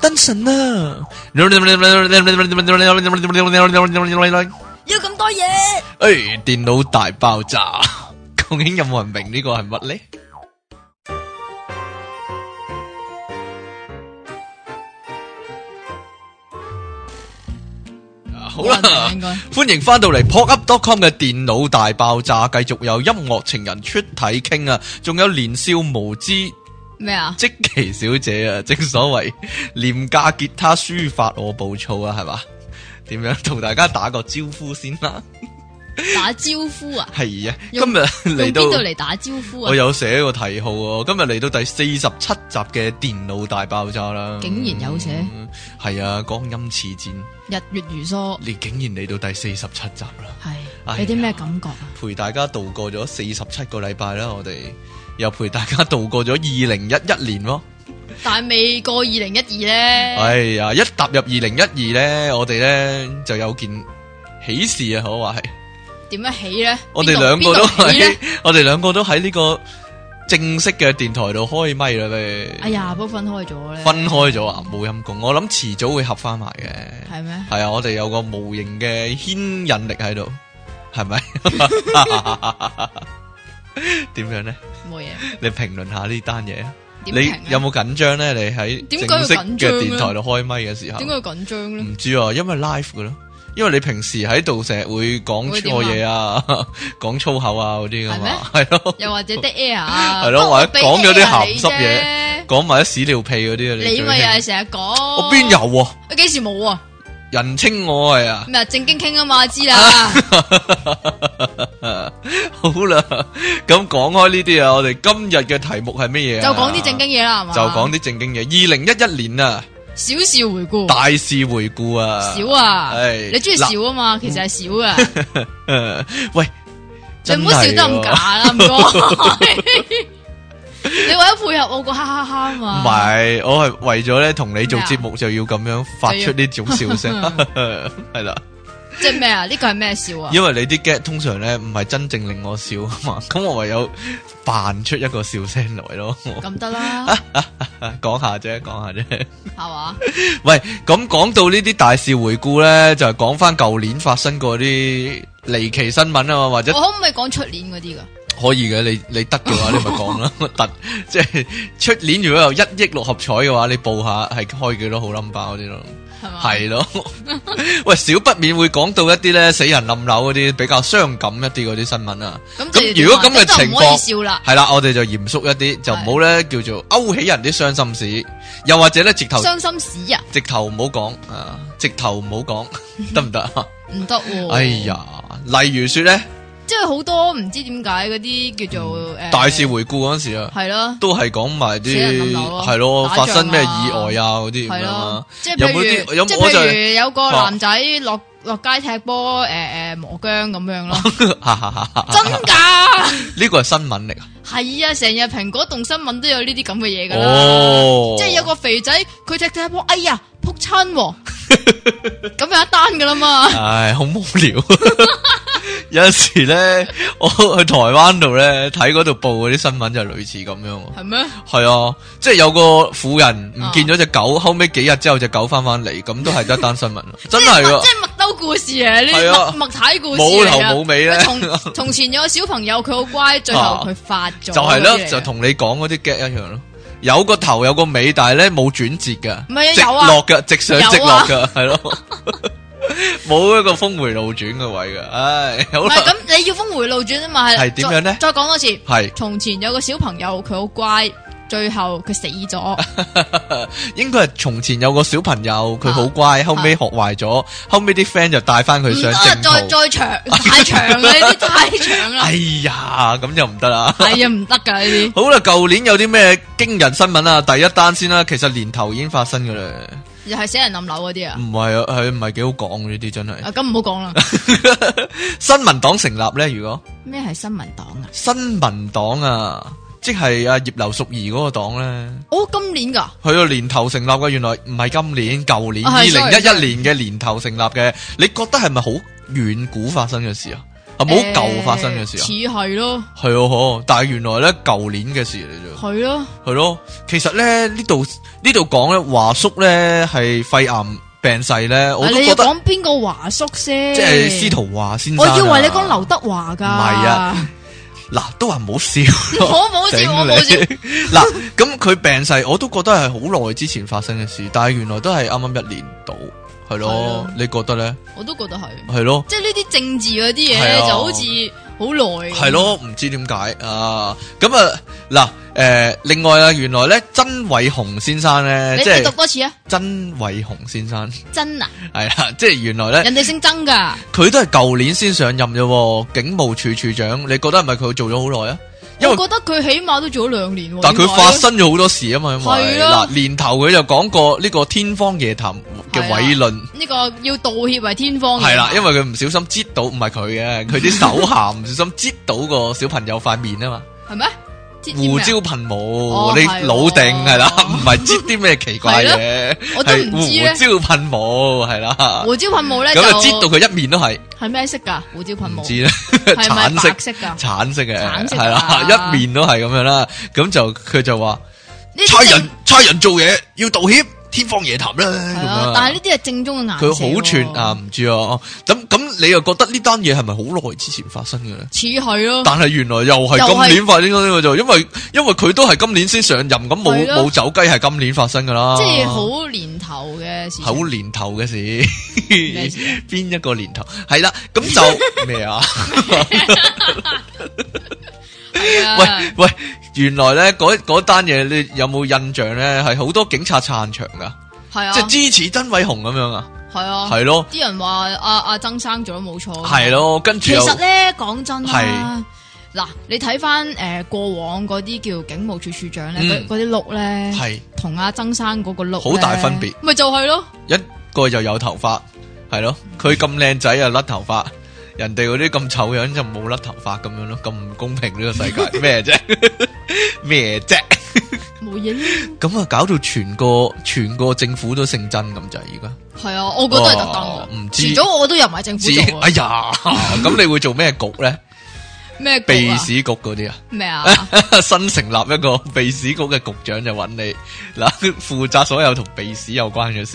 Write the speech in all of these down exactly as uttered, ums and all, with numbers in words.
燈神啊！ 要咁多嘢？ 誒，電腦大爆炸，究竟有冇人明呢個係乜咧？好啦，歡迎翻到嚟 pop up dot com 嘅電腦大爆炸，繼續有音樂情人出體傾啊，仲有年少無知咩啊？ 積淇小姐啊，正所謂廉價吉他抒發我暴躁啊，係嘛？點樣同大家打個招呼先啦？ 打招呼啊？ 係啊，今用日嚟到用邊度嚟打招呼啊？ 我有寫個題號喎，今日嚟到第四十七集嘅電腦大爆炸啦。 竟然有寫？ 係、嗯、啊，光陰似箭， 日月如梭。 你竟然嚟到第四十七集啦！ 係， 哎呀有啲咩感覺啊？ 陪大家度過咗四十七個禮拜啦，我哋又陪大家度過咗二零一一年咯。 但係未過二零一二咧。 哎呀，一踏入二零一二咧，我哋咧就有件喜事啊，可話係。 點樣起咧？ 我哋兩個都喺喺， 我哋兩個都喺呢個正式嘅電台度開咪啦咩？ 哎呀，不分開咗咧。 分開咗啊，冇陰功。我諗遲早會合翻埋嘅。 係咩？ 係啊，我哋有個無形嘅牽引力喺度，係咪？點樣咧？ 冇嘢。 你評論下呢單嘢啊？ 點評啊？ 你有冇緊張咧？你喺正式嘅電台度開咪嘅時候， 點解要緊張咧？ 唔知啊，因為 live 噶咯。因為你平時喺度成日會講錯嘢啊，講粗口啊嗰啲噶嘛，係咯， 又或者 dead air 啊， 係咯，或者講咗啲鹹濕嘢， 嘢， 講埋啲屎尿屁嗰啲啊， 你咪又係成日講， 我邊有啊？ 我幾時冇啊？ 人稱我係啊， 咩啊？正經傾啊嘛，知啦。 好啦，咁講開呢啲啊，我哋今日嘅題目係乜嘢啊？ 就講啲正經嘢啦，係嘛？ 就講啲正經嘢。二零一一年啊。 小事回顧， 大事回顧啊！ 少啊， 係你中意少啊嘛？其實係少啊。 喂， 你唔好笑得咁假啦，唔該。你為咗配合我個哈哈哈啊嘛？ 唔係，我係為咗咧同你做節目就要咁樣發出呢種笑聲，係啦。 即係咩啊？呢個係咩笑啊？ 因為你啲 get 通常咧唔係真正令我笑啊嘛，咁我唯有扮出一個笑聲來咯。 咁得啦， 講下啫，講下啫， 係嘛？ 喂，咁講到呢啲大事回顧咧，就係講翻舊年發生過啲離奇新聞啊嘛，或者我可唔可以講出年嗰啲噶？ 可以嘅，你你得嘅話，你咪講啦。特即係出年如果有一億六合彩嘅話，你報下係開幾多號 number 嗰啲咯。係咯，喂，少不免會講到一啲咧死人冧樓嗰啲比較傷感一啲嗰啲新聞啊。咁如果咁嘅情況，係啦，我哋就嚴肅一啲，就唔好咧叫做勾起人啲傷心事，又或者咧直頭傷心事啊， 直頭唔好講啊，直頭唔好講，得唔得啊？ 唔得。 哎呀，例如說咧。 即係好多唔知點解嗰啲叫做誒大事回顧嗰時啊， 係咯， 都係講埋啲係咯，發生咩意外啊嗰啲咁樣。即係譬如， 有即係譬如有個男仔落落街踢波，誒誒磨姜咁樣咯。真噶？ 呢個係新聞嚟啊？ 係啊，成日蘋果動新聞都有呢啲咁嘅嘢噶啦。 哦， 即係有個肥仔佢踢踢波，哎呀扑親，咁有一單噶啦嘛。 唉，好無聊。有陣時咧，我去台灣度咧睇嗰度報嗰啲新聞就類似咁樣。 係咩？ 係啊，即係有個婦人唔見咗隻狗，後尾幾日之後隻狗翻翻嚟，咁都係一單新聞。真係噶， 即係麥兜故事啊！呢啲麥麥太故事冇頭冇尾咧。 從從前有個小朋友，佢好乖，最後佢發咗。 就係咯，就同你講嗰啲 get 一樣咯。有個頭有個尾，但係咧冇轉折噶， 唔係啊， 直有啊， 落嘅，直上直落噶，係咯。冇一個峰回路轉嘅位嘅，唉，好啦。 咁你要峰回路轉啊嘛，係係點樣咧？ 再講多次， 係從前有個小朋友，佢好乖，最後佢死咗。 應該係從前有個小朋友，佢好乖，後尾學壞咗，後尾啲 friend 就帶翻佢上正途。 再再長太長啦，呢啲太長啦。 哎呀，咁就唔得啦。 係啊，唔得噶呢啲。 好啦，舊年有啲咩驚人新聞啊？第一單先啦，其實年頭已經發生噶啦。 又係死人冧樓嗰啲啊？ 唔係啊，係唔係幾好講呢啲真係。 啊，咁唔好講啦。 新民黨成立咧，如果咩係新民黨啊？ 新民黨啊，即係阿葉劉淑儀嗰個黨咧。 哦，今年噶？ 係啊，年頭成立嘅，原來唔係今年，舊年二二零一一年嘅年頭成立嘅。你覺得係咪好遠古發生嘅事啊？ 係冇舊發生嘅事啊？ 似係咯， 係哦，但係原來咧舊年嘅事嚟啫。 係咯， 係咯，其實咧呢度呢度講咧華叔咧係肺癌病逝咧，我都覺得。 你講邊個華叔先？ 即係司徒華先生。 我以為你講劉德華噶。 唔係啊。嗱，都話唔好笑， 我冇笑，我冇笑。 嗱，咁佢病逝，我都覺得係好耐之前發生嘅事，但係原來都係啱啱一年到，係咯？你覺得咧？ 我都覺得係， 係咯。 即係呢啲政治嗰啲嘢咧，就好似好耐。 係咯，唔知點解啊？咁啊，嗱，誒，另外啊，原來咧，曾偉雄先生咧，即係你讀多次啊？ 曾偉雄先生， 曾啊？ 係啊，即係原來咧， 人哋姓曾噶， 佢都係舊年先上任啫，警務處處長，你覺得係咪佢做咗好耐啊？因為我覺得佢起碼都做咗兩年， 但係佢發生咗好多事啊嘛，因為係啊嗱年頭佢就講過呢個天方夜譚嘅偉論， 呢個要道歉為天方夜譚。 係啦，因為佢唔小心擠到，唔係佢嘅，佢啲手下唔小心擠到個小朋友塊面啊嘛， 係咩？ 胡椒噴霧， 哦你老定係啦，唔係擠啲咩奇怪嘢， 我都唔知咧。 胡椒噴霧係啦， 胡椒噴霧咧咁就擠到佢一面都係。 係咩色噶？胡椒噴霧唔知咧， 係咪白色噶？ 橙色嘅， 橙色係啦，一面都係咁樣啦。咁就佢就話差人差人做嘢要道歉，天方夜譚啦。咁樣， 但係呢啲係正宗嘅顏色。 佢好串啊，唔知啊。咁咁，你又覺得呢單嘢係咪好耐之前發生嘅咧？ 似係咯。但係原來又係今年發生嘅呢個就，因為因為佢都係今年先上任，咁冇冇走雞係今年發生噶啦。 即係好年頭嘅事。 好年頭嘅事，邊一個年頭？係啦，咁就咩啊？喂喂，原來咧嗰嗰單嘢，你有冇印象咧？係好多警察撐場噶， 係啊， 即係支持曾偉雄咁樣啊， 係啊， 係咯。 啲人話阿阿曾生做得冇錯， 係咯，跟住其實咧講真係啦，嗱，你睇翻誒過往嗰啲叫警務處處長咧，嗰嗰啲碌咧，係同阿曾生嗰個碌好大分別， 咪就係咯， 一個就有頭髮，係咯，佢咁靚仔啊甩頭髮。人哋嗰啲咁醜樣就冇甩頭髮咁樣咯，咁唔公平呢個世界咩啫？咩啫？ 冇嘢啦。 咁啊，搞到全個全個政府都姓曾咁就係而家。 係啊，我覺得係特登。唔知遲早我都入埋政府做。 哎呀，咁你會做咩局咧？ 咩秘史局嗰啲啊？咩啊？ 新成立一個秘史局嘅局長就揾你嗱，負責所有同秘史有關嘅事。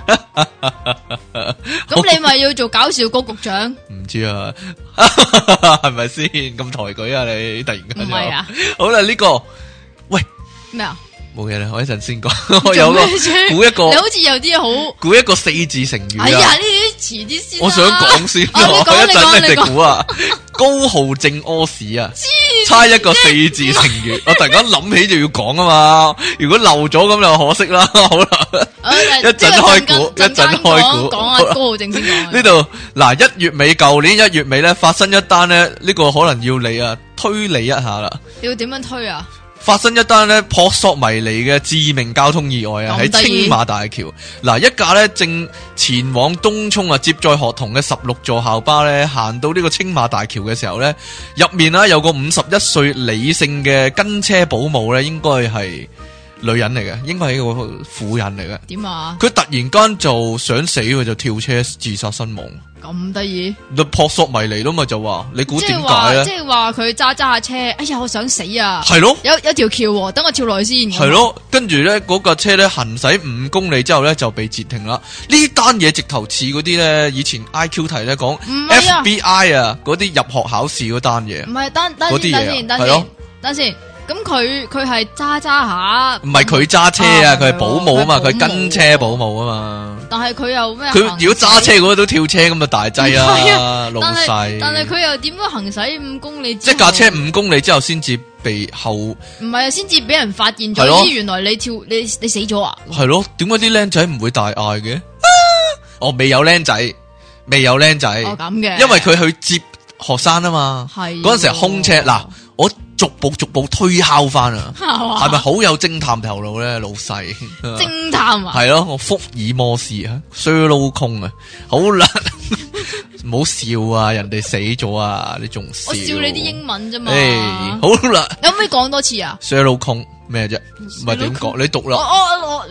咁你咪要做搞笑局局長？ 唔知啊，係咪先咁抬舉啊？你突然間唔係啊？ 好啦，呢個喂咩啊？ 冇嘢啦，我一陣先講。我有個估一個， 你好似有啲好估一個四字成語啊！ 哎呀，呢啲遲啲先。 我想講先，我一陣你哋估啊。高浩正屙屎啊！猜一個四字成語，我突然間諗起就要講啊嘛。如果漏咗咁就可惜啦。好啦，一陣開估，一陣開估。 講啊，高浩正先講。 呢度嗱，一月尾，舊年一月尾咧，發生一單咧，呢個可能要你啊推理一下啦。 你要點樣推啊？ 發生一單咧撲朔迷離嘅致命交通意外啊！喺青馬大橋，嗱，一架咧正前往東涌啊接載學童嘅十六座校巴咧，行到呢個青馬大橋嘅時候咧，入面啦有個五十一歲李姓嘅跟車保姆咧，應該係女人嚟嘅，應該係一個婦人嚟嘅。 點啊？佢突然間就想死，佢就跳車自殺身亡。 咁得意？ 你撲朔迷離咯嘛，就話你估點解咧？ 即係話佢揸揸下車，哎呀，我想死啊！ 係咯， 有有條橋，等我跳落去先。 係咯，跟住咧嗰架車咧行駛五公里之後咧就被截停啦。呢單嘢直頭似嗰啲咧，以前 I Q 題咧講 F B I 啊，嗰啲入學考試嗰單嘢。 唔係，等等先，等先，等先，等先。咁佢佢係揸揸下， 唔係佢揸車啊，佢係保姆啊嘛，佢跟車保姆啊嘛。 但係佢又咩？ 佢如果揸車嗰個都跳車咁就大劑啊，老細。 但係佢又點樣行駛五公里？ 即係架車五公里之後先至被後。唔係啊，先至俾人發現咗。咦，原來你跳你你死咗啊？ 係咯，點解啲僆仔唔會大嗌嘅？哦，未有僆仔，未有僆仔。 哦，咁嘅。因為佢去接學生啊嘛。係。嗰陣時係空車嗱。我逐步逐步推敲翻啊，係咪好有偵探頭腦咧，老細？ 偵探啊？ 係咯，我福爾摩斯啊，Sherlock Holmes啊，好啦，唔好笑啊，人哋死咗啊，你仲笑？ 我笑你啲英文啫嘛。 誒，好啦， 有冇可以講多次啊 ？Sherlock Holmes咩啫？唔係點講？你讀啦。 我我我你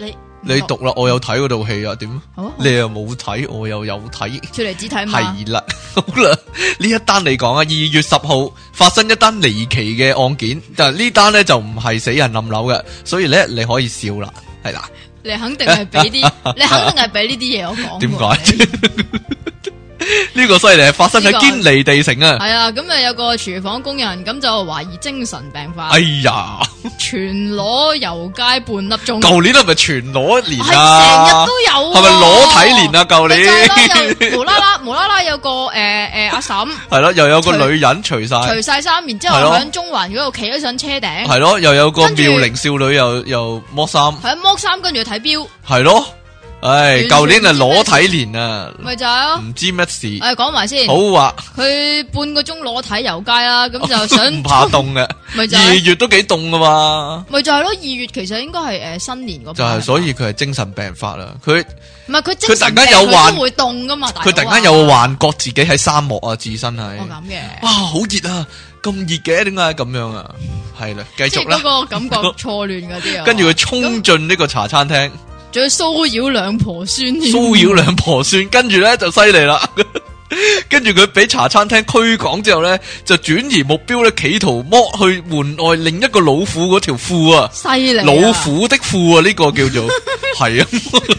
你讀啦，我有睇嗰套戲啊，點？ 好， 你又冇睇，我又有睇， 出嚟只睇嘛。 係啦，好啦，呢一單嚟講啊，二月十號發生一單離奇嘅案件，但係呢單咧就唔係死人冧樓嘅，所以咧你可以笑啦，係啦。 你肯定係俾啲，你肯定係俾呢啲嘢我講。 點解？呢個犀利，發生喺堅尼地城啊！ 係啊，咁啊有個廚房工人咁就懷疑精神病發。 哎呀！ 全裸遊街半粒鐘。 舊年係咪全裸年啊？ 係成日都有、啊。 係咪裸體年啊？舊年。又無啦啦，無啦啦有個誒誒、呃呃、阿嬸。 係咯，又有個女人除晒。 除晒衫，然之後喺中環嗰度企咗上車頂。 係咯，又有個妙齡少女又又剝衫。 係啊，剝衫跟住睇錶。 係咯。唉，舊年係裸體年啊， 咪就係咯， 唔知乜事。 誒，講埋先， 好啊， 佢半個鐘裸體遊街啦，咁就想唔怕凍嘅， 咪就二月都幾凍噶嘛， 咪就係咯，二月其實應該係誒新年嗰就係，所以佢係精神病發啦，佢唔係佢精神病， 佢突然間有幻都會凍噶嘛， 佢突然間有個幻覺自己喺沙漠啊，自身係， 我咁嘅， 哇，好熱啊，咁熱嘅，點解咁樣啊？係啦，繼續啦， 即係嗰個感覺錯亂嗰啲啊， 跟住佢衝進呢個茶餐廳。 仲要騷擾兩婆孫， 騷擾兩婆孫，跟住咧就犀利啦。跟住佢俾茶餐廳驅趕之後咧，就轉移目標咧，企圖剝去門外另一個老虎嗰條褲啊！ 犀利， 老虎的褲啊，呢、這個叫做係啊。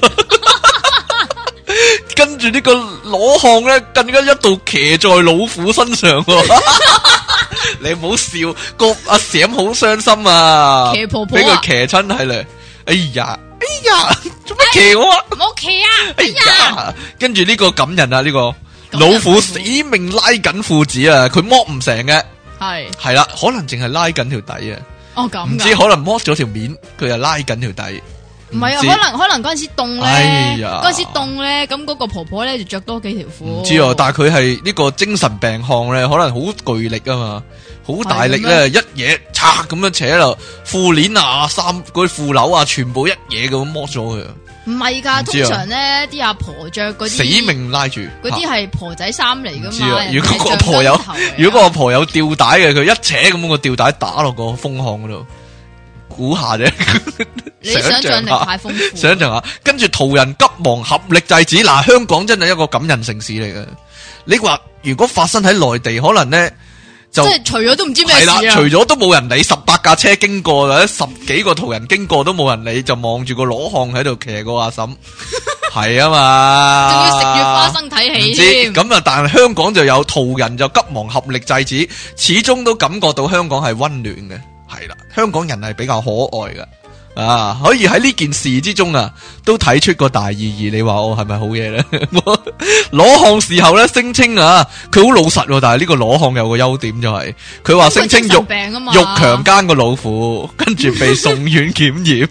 跟住呢個裸漢咧，更加一度騎在老虎身上、啊。你唔好笑，個阿閃好傷心啊！ 騎婆婆俾佢騎親係咧，哎呀！哎呀，做乜騎我啊？ 唔好騎啊！哎呀， 跟住呢個感人啊，呢、這個老虎死命拉緊褲子啊，佢剝唔成嘅，係係啦，可能淨係拉緊條底啊。 哦咁， 唔知可能剝咗條面，佢又拉緊條底。 唔係啊，可能可能嗰陣時凍咧，嗰陣時凍咧，咁嗰個婆婆咧就着多幾條褲。 唔知啊，但係佢係呢個精神病漢咧，可能好巨力啊嘛。好大力咧，一嘢拆咁樣扯落褲鏈啊、衫嗰啲褲鈕啊，全部一嘢咁剝咗佢。 唔係噶，通常咧啲阿婆着嗰啲死命拉住， 嗰啲係婆仔衫嚟噶嘛。 如果個婆有，如果個婆有吊帶嘅，佢一扯咁個吊帶打落個風巷嗰度，估下啫。 你想象力太豐富。 想象下，跟住途人急忙合力制止。嗱，香港真係一個感人城市嚟嘅。你話如果發生喺內地，可能咧。即係除咗都唔知咩事啊！ 除咗都冇人理，十八架車經過，或者十幾個途人經過都冇人理，就望住個裸漢喺度騎個阿嬸，係啊嘛， 仲要食住花生睇戲添。 咁啊，但係香港就有途人就急忙合力制止，始終都感覺到香港係溫暖嘅，係啦，香港人係比較可愛嘅。啊，可以喺呢件事之中啊，都睇出個大意義。你話我係咪好嘢咧？裸漢事後咧聲稱啊，佢好老實，但係呢個裸漢有個優點就係，佢話聲稱欲欲強姦個老虎，跟住被送院檢驗。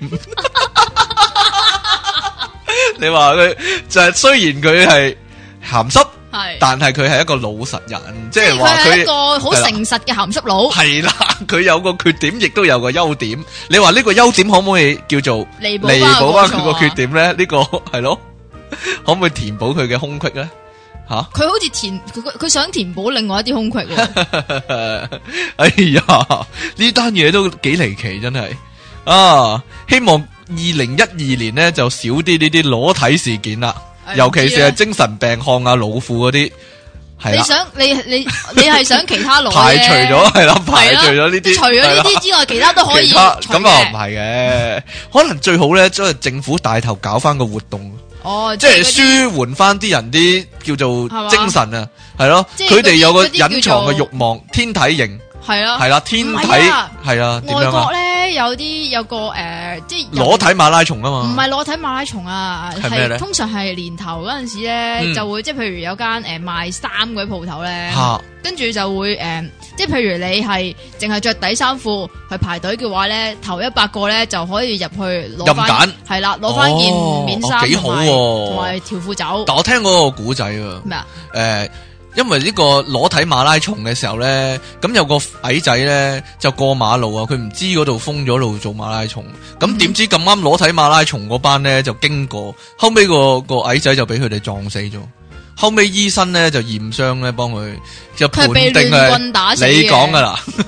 你話佢就係、是、雖然佢係鹹濕。但係佢係一個老實人，即係話佢係一個好誠實嘅鹹濕佬。 係啦，佢有個缺點，亦都有個優點。你話呢個優點可唔可以叫做彌補翻佢個缺點咧？呢、這個係咯，可唔可以填補佢嘅空隙咧？吓，佢好似填佢佢想填補另外一啲空隙。 哎呀，呢單嘢都幾離奇，真係啊！希望二零一二年咧就少啲呢啲裸體事件啦。尤其是係精神病漢啊、老虎嗰啲，係你想你你你係想其他攞排除咗係啦，排除咗呢啲， 除咗呢啲之外，其他都可以。 咁啊唔係嘅，可能最好咧，即係政府帶頭搞翻個活動， 哦， 即係舒緩翻啲人啲叫做精神啊，係咯，佢哋有個隱藏嘅慾望，天體型。係啦，係啦，天體係啊，點樣啊？ 外國咧有啲有個誒，即係裸體馬拉松啊嘛， 唔係裸體馬拉松啊， 係咩咧？ 通常係年頭嗰陣時咧，就會即係譬如有間誒賣衫嗰啲鋪頭咧，跟住就會誒，即係譬如你係淨係着底衫褲去排隊嘅話咧，頭一百個咧就可以入去攞翻，係啦，攞翻件棉衫， 幾好， 同埋條褲走。 但我聽嗰個古仔啊，咩啊？誒。因為呢個裸體馬拉松嘅時候咧，咁有個矮仔咧就過馬路啊，佢唔知嗰度封咗路做馬拉松，咁點知咁啱裸體馬拉松嗰班咧就經過，後尾個個矮仔就俾佢哋撞死咗，後尾醫生咧就驗傷咧幫佢就判定係你講噶啦，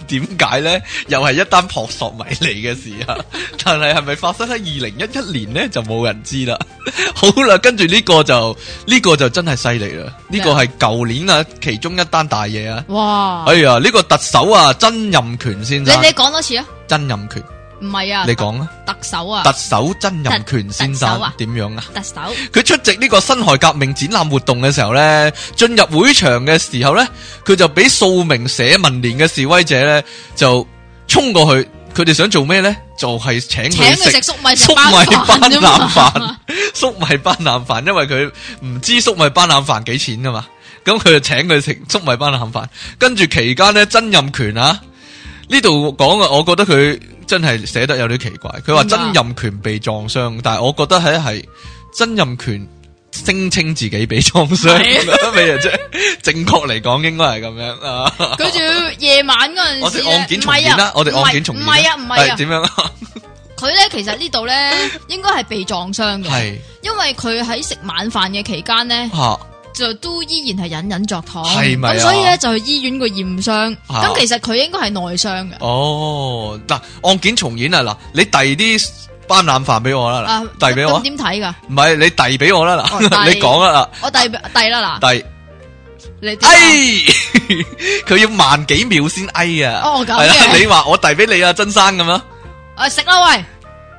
點解咧？又係一單撲朔迷離嘅事啊！但係係咪發生喺二零一一年咧？就冇人知啦。好啦，跟住呢個就呢、這個就真係犀利啦！呢、這個係舊年啊，其中一單大嘢啊！ 哇！ 哎呀，呢、這個特首啊，曾蔭權先生， 你你講多次啊？ 曾蔭權。 唔係啊， 你講啊， 特首啊， 特首曾蔭權先生點樣啊？ 特首佢出席呢個辛亥革命展覽活動嘅時候咧，進入會場嘅時候咧，佢就俾數名社民連嘅示威者咧就衝過去，佢哋想做咩咧？就係、是、請佢食粟米粟米斑腩飯，粟米斑腩飯，因為佢唔知粟米斑腩飯幾錢噶嘛，咁佢就請佢食粟米斑腩飯。跟住期間咧，曾蔭權啊呢度講啊，我覺得佢。真係寫得有啲奇怪，佢話曾蔭權被撞傷，但係我覺得係係曾蔭權聲稱自己被撞傷，咩啫？正確嚟講應該係咁樣啊！佢仲要夜晚嗰陣時， 我哋案件重演啦，我哋案件重演， 唔係啊，唔係啊， 點樣啊？ 佢咧其實呢度咧應該係被撞傷嘅，係因為佢喺食晚飯嘅期間咧。就都依然係隱隱作痛，係咪？咁所以咧就去醫院個驗傷，咁、啊、其實佢應該係內傷嘅。哦，嗱，案件重演啊，嗱，你遞啲斑腩飯俾我啦，嗱，遞俾我。咁點睇噶？唔係你遞俾我啦，嗱，你講啦，嗱，我遞遞啦，嗱，遞，你哎，佢要慢幾秒先哎啊！哦，咁嘅，你話我遞俾你啊，曾生咁啊？誒，食啦喂，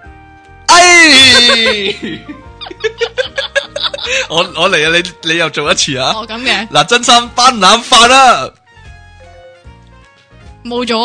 哎。我我嚟啊！你你又做一次啊！哦，咁嘅嗱，真心斑腩飯啦，冇咗。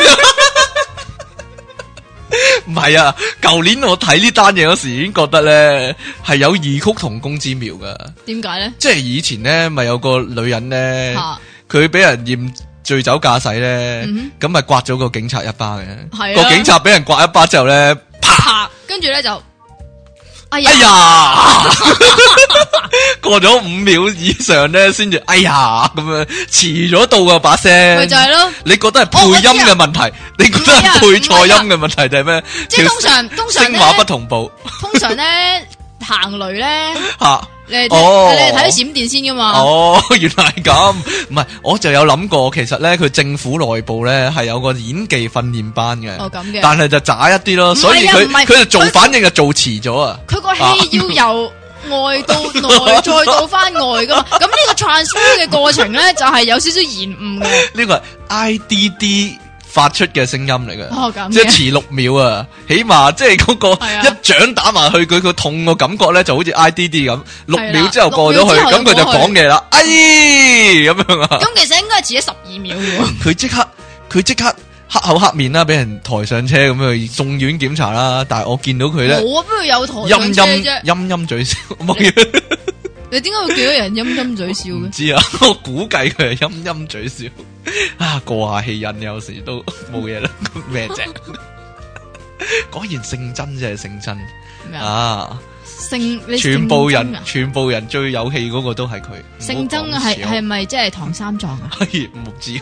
唔係啊，舊年我睇呢單嘢嗰時已經覺得咧係有異曲同工之妙噶。點解咧？即係以前咧咪有個女人咧，佢俾人驗醉酒駕駛咧，咁咪刮咗個警察一巴嘅。個警察俾人刮一巴之後咧，啪，跟住咧就。哎呀！哎呀過咗五秒以上咧，先至哎呀咁樣遲咗到噶把聲，咪就係咯。你覺得係配音嘅問題？哦、你覺得係配錯音嘅問題定係咩？即係通常通常聲畫不同步。通常咧行雷咧吓。你係睇、哦、你係睇閃電先噶嘛？哦，原來係咁，唔係，我就有諗過，其實咧佢政府內部咧係有個演技訓練班嘅，哦咁嘅，但係就渣一啲咯，所以佢佢就做反應就做遲咗啊！佢個戲要由外到內再到翻外噶嘛，咁呢個 transfer 嘅過程咧就係有少少延誤嘅。呢個係 I D D。發出嘅聲音嚟嘅，哦、即係遲六秒啊，起碼即係嗰個一掌打埋去，佢個痛個感覺咧就好似 I D D 咁，六秒之後過咗去，咁佢就講嘢啦，哎咁樣啊。咁其實應該係遲咗十二秒嘅。佢即刻佢即刻黑口黑面啦，俾人抬上車咁去送院檢查啦。但係我見到佢咧，冇啊，邊度有抬上車啫？陰陰嘴笑，冇嘢。你點解會見到人陰陰嘴笑嘅？唔知啊，我估計佢係陰陰嘴笑啊，過下氣癮有時都冇嘢啦。咩啫？果然姓曾真係姓曾啊！姓全部人全部人最有氣嗰個都係佢。姓曾係係咪即係唐三藏啊？係唔知。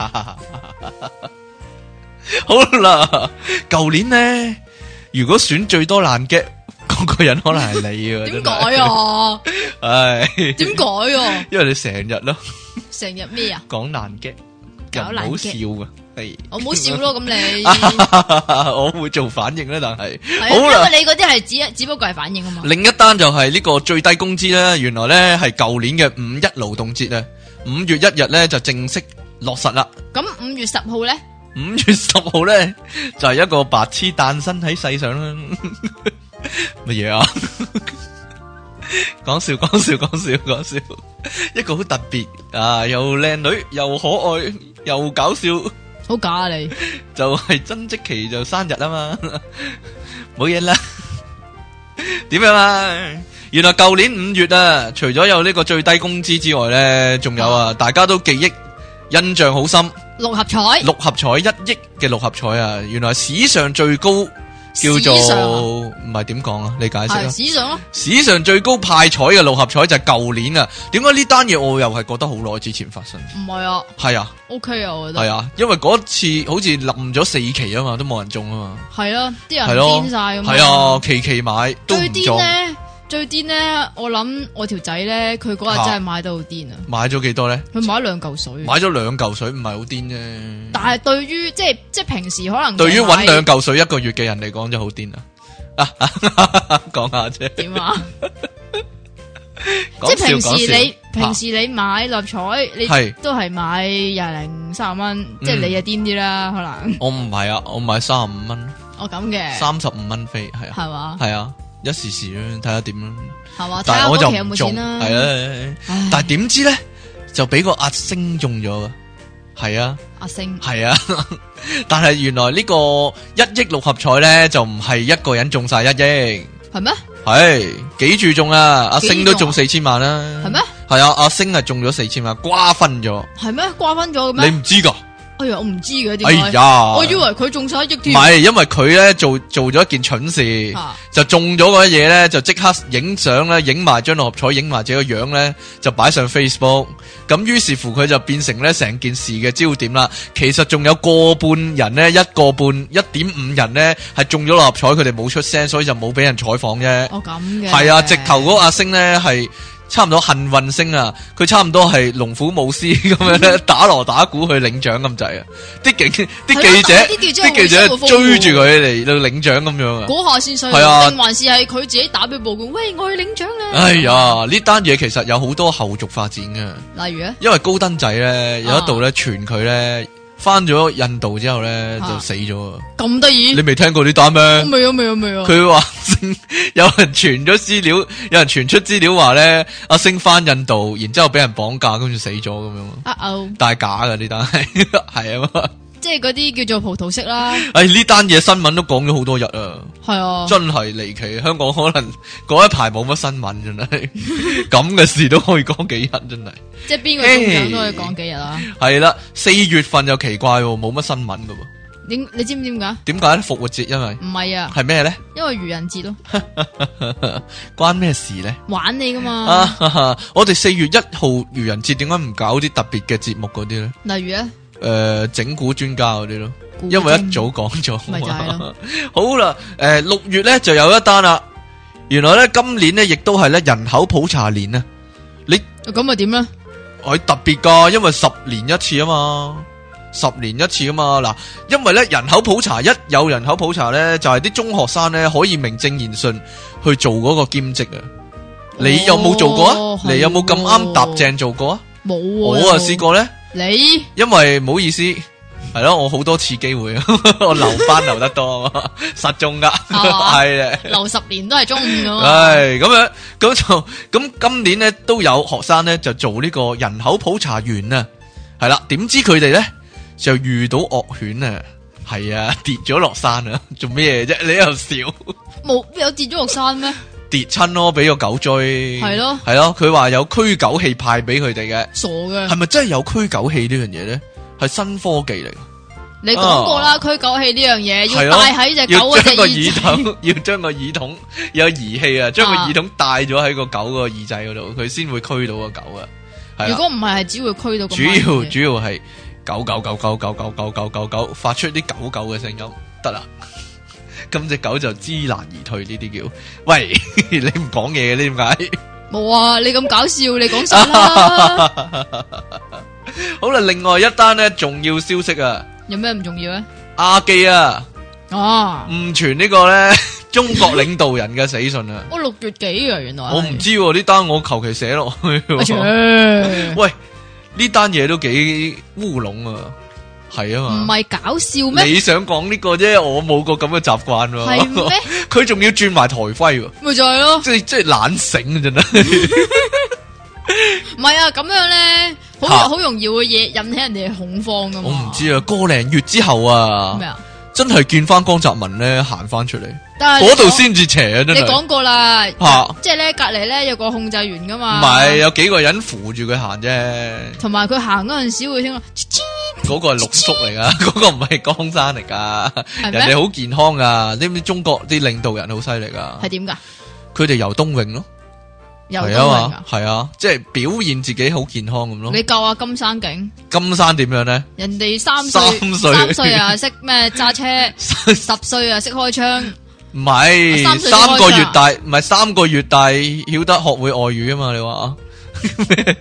好啦，舊年呢，如果選最多爛嘅。嗰個人可能係你啊？點改啊？唉，點改啊？因為你成日咯，成日咩啊？講爛嘅，搞爛好笑噶，係我冇笑咯。咁你我會做反應咧，但係好啦，因為你嗰啲係只只不過係反應啊嘛。另一單就係呢個最低工資咧，原來咧係舊年嘅五一勞動節啊，五月一日咧就正式落實啦。咁五月十號咧？五月十號咧就係一個白痴誕生喺世上啦。乜嘢啊？講笑講笑講笑講笑，一個好特別啊，又靚女又可愛又搞笑，好假啊你！就係曾積淇就生日啊嘛，冇嘢啦。點樣啊？原來舊年五月啊，除咗有呢個最低工資之外咧，仲有啊，大家都記憶印象好深，六合彩，六合彩一億嘅六合彩啊，原來史上最高。叫做唔係點講啊？你解釋啊？史上咯，史上最高派彩嘅六合彩就係舊年啊！點解呢單嘢我又係覺得好耐之前發生？唔係啊，係啊 ，OK 啊，我覺得係啊，因為嗰次好似冧咗四期啊嘛，都冇人中啊嘛，係咯，啲人癲晒咁，係啊，期期買都唔中。最癲咧， 最癲咧，我諗我條仔咧，佢嗰日真係買得好癲啊！ 買咗幾多咧？ 佢買咗兩嚿水。買咗兩嚿水唔係好癲啫。 但係對於即係即係平時可能對於搵兩嚿水一個月嘅人嚟講就好癲啦。講下啫。點啊？即係平時你平時你買六合彩，你都係買廿零三十蚊，即係你就癲啲啦，可能。我唔係啊，我買三十五蚊。哦咁嘅。三十五蚊飛係啊。係嘛？係啊。一時時啦，睇下點啦，係嘛？但係我就唔中，係啊，但係點知咧就俾個阿星中咗，係啊，阿星係啊，但係原來呢個一億六合彩咧就唔係一個人中晒一億，係咩？係幾注中啊？阿星都中四千萬啦，係咩？係啊，阿星係中咗四千萬，瓜分咗，係咩？瓜分咗嘅咩？你唔知噶？哎呀，我唔知嘅，點解？哎呀，我以為佢中晒一億添。唔係，因為佢咧做做咗一件蠢事，啊、就中咗嗰啲嘢咧，就即刻影相咧，影埋張六合彩，影埋自己個樣咧，就擺上 Facebook。咁於是乎佢就變成咧成件事嘅焦點啦。其實仲有個半人咧，一個半一點五人咧係中咗六合彩，佢哋冇出聲，所以就冇俾人採訪啫。哦，咁嘅。係啊，直頭嗰個阿星咧係。差唔多幸運星啊！佢差唔多係龍虎武師咁樣咧，打鑼打鼓去領獎咁滯啊！啲警啲記者啲記者追住佢嚟到領獎咁樣啊！嗰下先衰，定還是係佢自己打俾報告？喂，我去領獎啦！哎呀，呢單嘢其實有好多後續發展嘅，例如咧，因為高登仔咧有一度咧傳佢咧。翻咗印度之後咧就死咗啊！咁得意？你未聽過呢單咩？未啊未啊未啊！佢話有人傳咗資料，有人傳出資料話咧阿星翻印度，然之後俾人綁架，跟住死咗咁樣。啊哦！但係假噶呢單係係啊嘛。即係嗰啲叫做葡萄式啦。哎，呢單嘢新聞都講咗好多日啊。係啊，真係離奇。香港可能嗰一排冇乜新聞，真係咁嘅事都可以講幾日，真係。即係邊個中獎都可以講幾日啊？係啦，四月份又奇怪，冇乜新聞噶喎。點你知唔知點解？點解咧？復活節因為唔係啊，係咩咧？因為愚人節咯。關咩事咧？玩你噶嘛？啊、我哋四月一號愚人節點解唔搞啲特別嘅節目嗰啲咧？例如咧？誒、呃，整蠱專家嗰啲咯，因為一早講咗。咪就係咯。好啦，誒、呃，六月咧就有一單啦。原來咧今年咧亦都係咧人口普查年啊。你咁咪點咧？係特別噶，因為十年一次啊嘛，十年一次啊嘛。嗱，因為咧人口普查一有人口普查咧，就係、是、啲中學生咧可以名正言順去做嗰個兼職啊。你有冇做過啊？哦、你有冇咁啱搭正做過啊？冇、哦，我啊試過咧。你因為唔好意思，係咯，我好多次機會，我留班留得多，實中噶，係啊，留十年都係中五噶嘛。係咁樣，咁就咁今年咧都有學生咧就做呢個人口普查員啊，係啦，點知佢哋咧就遇到惡犬啊，係啊，跌咗落山啊，做咩啫？你又笑？冇有跌咗落山咩？跌親咯，俾個狗追，係咯，係咯，佢話有驅狗器派俾佢哋嘅，傻嘅，係咪真係有驅狗器呢樣嘢咧？係新科技嚟。你講過啦，驅狗器呢樣嘢要戴喺隻狗嘅耳筒，要將個耳筒有儀器啊，將個耳筒戴咗喺個狗個耳仔嗰度，佢先會驅到個狗啊。如果唔係，係只會驅到。主要主要係狗狗狗狗狗狗狗狗狗狗發出啲狗狗嘅聲音，得啦。咁隻狗就知難而退，呢啲叫喂，你唔講嘢嘅，點解？冇啊，你咁搞笑，你講晒啦。好啦，另外一單咧重要消息啊，有咩唔重要咧？阿基啊，哦，誤傳呢個咧中國領導人嘅死訊啊。我六月幾啊，原來我唔知呢單，我求其寫落去。喂，呢單嘢都幾烏龍啊！係啊嘛，唔係搞笑咩？你想講呢個啫，我冇個咁嘅習慣喎。係咩？佢仲要轉埋台徽喎，咪就係咯，即係即係懶醒啊！真係，唔係啊，咁樣咧，好好容易會引引起人哋恐慌噶嘛。我唔知啊，個零月之後啊，咩啊？真係見翻江澤民咧行翻出嚟，但係嗰度先至邪啊！真係。你講過啦，即係咧隔籬咧有個控制員噶嘛，唔係有幾個人扶住佢行啫，同埋佢行嗰陣時會聽到。嗰個係六叔嚟噶，嗰個唔係江山嚟噶，人哋好健康噶，知唔知中國啲領導人好犀利噶？係點噶？佢哋游冬泳咯，游冬泳啊，係啊，即係表現自己好健康咁咯。你救下金山景，金山點樣咧？人哋三歲三歲啊識咩揸車，十歲啊識開槍， 唔係三個月大，唔係三個月大曉得學會外語啊嘛？你話咩？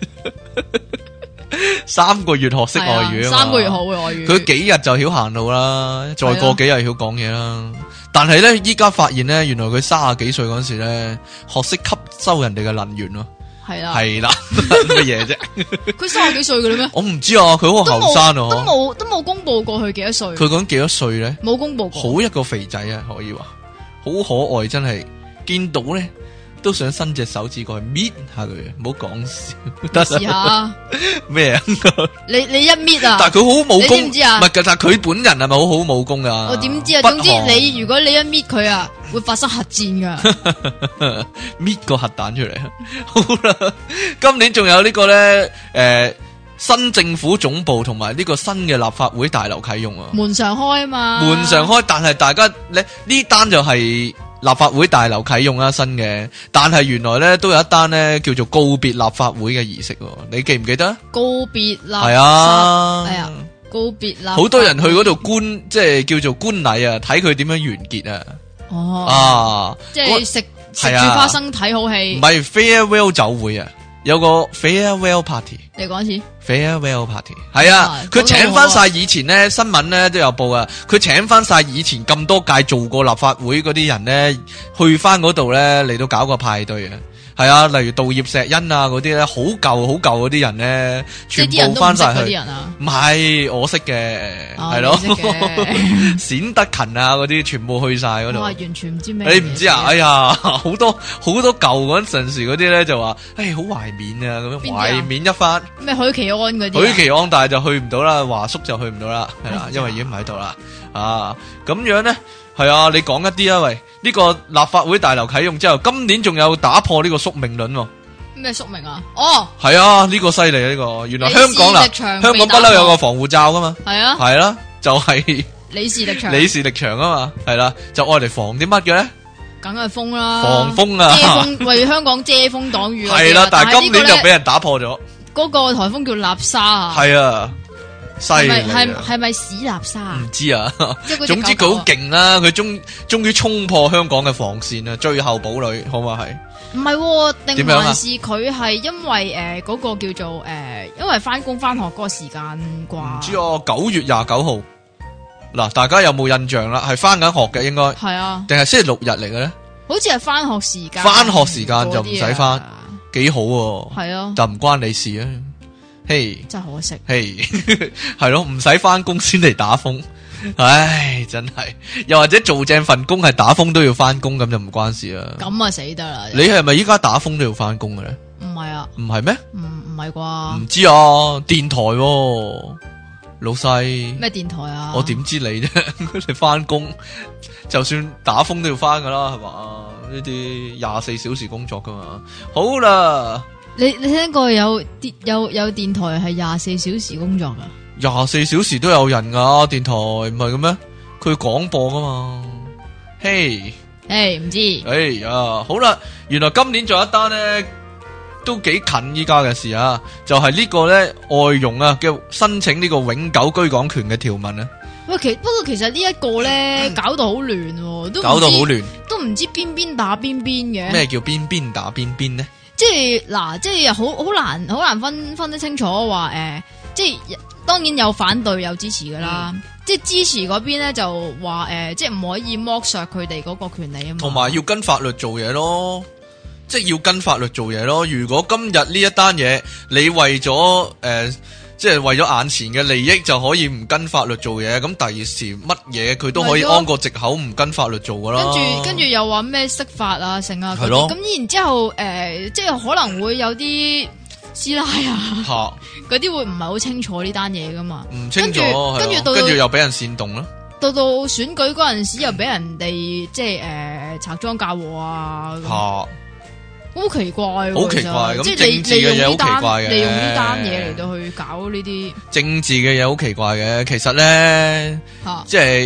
三個月學識外語啊嘛？ 三個月學會外語， 佢幾日就曉行路啦，再過幾日曉講嘢啦。但係咧，依家發現咧，原來佢三十幾歲嗰時咧，學識吸收人哋嘅能源咯。係啦，係啦，乜嘢啫？ 佢三十幾歲嘅咧咩？ 我唔知啊，佢好後生啊， 都冇都冇公布過佢幾多歲。 佢講幾多歲咧？ 冇公布過。 好一個肥仔啊，可以話好可愛，真係見到咧都想伸隻手指過去搣下佢，唔好講笑。得試下咩啊？ 你你一搣啊！ 但係佢好武功， 你知唔知啊？ 唔係，但係佢本人係咪好好武功噶？ 我點知啊？總之你如果你一搣佢啊，會發生核戰噶， 搣個核彈出嚟。好啦，今年仲有呢個咧，誒、呃，新政府總部同埋呢個新嘅立法會大樓啟用啊， 門常開啊嘛， 門常開，但係大家咧呢單就係立法會大樓啟用啦，新嘅，但係原來咧都有一單咧叫做告別立法會嘅儀式，你記唔記得？ 告別立係啊， 係啊，告別立， 好多人去嗰度觀，即係叫做觀禮啊，睇佢點樣完結啊。 哦， 啊， 即係食食住花生睇好戲， 唔係 farewell 酒會啊，有個 farewell party。 你講一次 farewell party 係啊，佢請翻晒以前咧新聞咧都有報啊，佢請翻晒以前咁多屆做過立法會嗰啲人咧，去翻嗰度咧嚟到搞個派對啊。係啊，例如杜葉錫恩啊嗰啲咧，好舊好舊嗰啲人咧，全部翻晒去。唔係我識嘅，係咯，冼德勤啊嗰啲全部去晒嗰度。我完全唔知咩。 你唔知啊？哎呀，好多好多舊嗰陣時嗰啲咧就話，誒好懷緬啊咁樣，懷緬一番。咩許奇安嗰啲？ 許奇安但係就去唔到啦，華叔就去唔到啦，係啦，因為已經唔喺度啦。啊，咁樣咧。係啊，你講一啲啊，喂！呢、這個立法會大樓啟用之後，今年仲有打破呢個宿命論喎。咩宿命啊？哦， 係啊，呢、這個犀利啊！呢、這個原來香港啦，香港不嬲有個防護罩噶嘛。係啊，係啦、啊，就係、是、 李氏力場， 李氏力場啊嘛，係啦、啊，就愛嚟防啲乜嘅咧？ 梗係風啦， 防風啊， 遮風為香港遮風擋雨。 係啦、啊，但係今年就俾人打破咗。 嗰個颱風叫納沙啊。 係啊。係咪係係咪史納沙？ 唔知啊，總之佢好勁啦，佢終終於衝破香港嘅防線啊，最後堡壘，好嘛係？ 唔係，定還是佢係因為誒嗰個叫做誒，因為翻工翻學嗰個時間啩？唔知哦，九月廿九號，嗱，大家有冇印象啦？係翻緊學嘅應該係啊， 定係星期六日嚟嘅咧？ 好似係翻學時間， 翻學時間就唔使翻，幾好喎？ 係啊， 就唔關你事啊。嘿， hey, 真係可惜。 嘿，係咯，唔使翻工先嚟打風，唉，真係。又或者做正份工係打風都要翻工，咁就唔關事啦。 咁啊死得啦！ 你係咪依家打風都要翻工嘅咧？ 唔係啊， 唔係咩？ 唔唔係啩？ 唔知啊，電台、啊、老細咩電台啊？ 我點知你啫？你翻工就算打風都要翻噶啦，係嘛？呢啲廿四小時工作噶嘛。好啦。 你你聽過有電有有電台係廿四小時工作噶？ 廿四小時都有人噶電台，唔係嘅咩？佢廣播噶嘛？嘿， 誒唔知？ 哎呀，好啦，原來今年仲有一單咧，都幾近依家嘅事啊！就係、是、呢個咧外傭啊嘅申請呢個永久居港權嘅條文啊。 喂，其不過其實呢一個咧搞到好亂，都搞到好亂， 都唔知邊邊打邊邊嘅。 咩叫邊邊打邊邊呢？ 即係嗱，即係好好難好難分分得清楚話誒、呃，即係當然有反對有支持噶啦，嗯、即係支持嗰邊咧就話誒、呃，即係唔可以剝削佢哋嗰個權利啊嘛， 同埋要跟法律做嘢咯，即係要跟法律做嘢咯。如果今日呢一單嘢你為咗誒。呃即係為咗眼前嘅利益就可以唔跟法律做嘢，咁第二時乜嘢佢都可以安個藉口唔跟法律做噶啦。跟住跟住又話咩釋法啊，成啊嗰啲，咁然之後誒、呃，即係可能會有啲師奶啊，嗰啲會唔係好清楚呢單嘢噶嘛？唔清楚，跟住跟住又俾人煽動啦。 到到選舉嗰陣時又俾人哋即係誒拆裝嫁禍啊。好奇怪， 好奇怪， 即係政治嘅嘢好奇怪嘅， 利用呢單嘢嚟到去搞呢啲政治嘅嘢好奇怪嘅。其實咧，啊、即係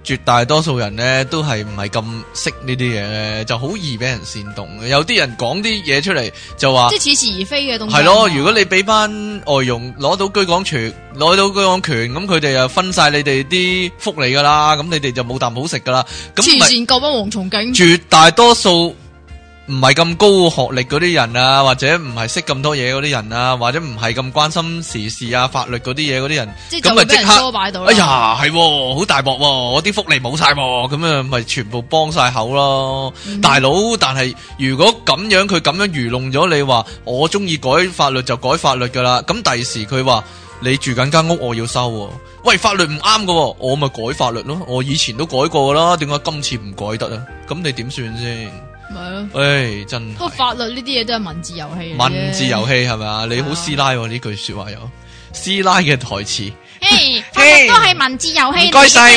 絕大多數人咧都係唔係咁識呢啲嘢咧，就好易俾人煽動嘅。有啲人講啲嘢出嚟就話， 即係似是而非嘅東西。 係咯，如果你俾班外傭攞到居港權，攞到居港權，咁佢哋又分晒你哋啲福利噶啦，咁你哋就冇啖好食噶啦。咁慈善救幫蝗蟲勁， 絕大多數唔係咁高學歷嗰啲人啊，或者唔係識咁多嘢嗰啲人啊，或者唔係咁關心時事啊、法律嗰啲嘢嗰啲人，咁咪即刻，哎呀，係好大鑊，我啲福利冇晒，咁樣咪全部幫晒口咯，嗯、大佬。但係如果咁樣佢咁樣愚弄咗你話，我中意改法律就改法律噶啦，咁第時佢話你住緊間屋我要收，喂，法律唔啱噶，我咪改法律咯，我以前都改過噶啦，點解今次唔改得啊？咁你點算先？咪咯，誒，真係。不過法律呢啲嘢都係文字遊戲。 文字遊戲係咪啊？你好師奶呢句說話有師奶嘅台詞。 誒，法律都係文字遊戲。 唔該晒。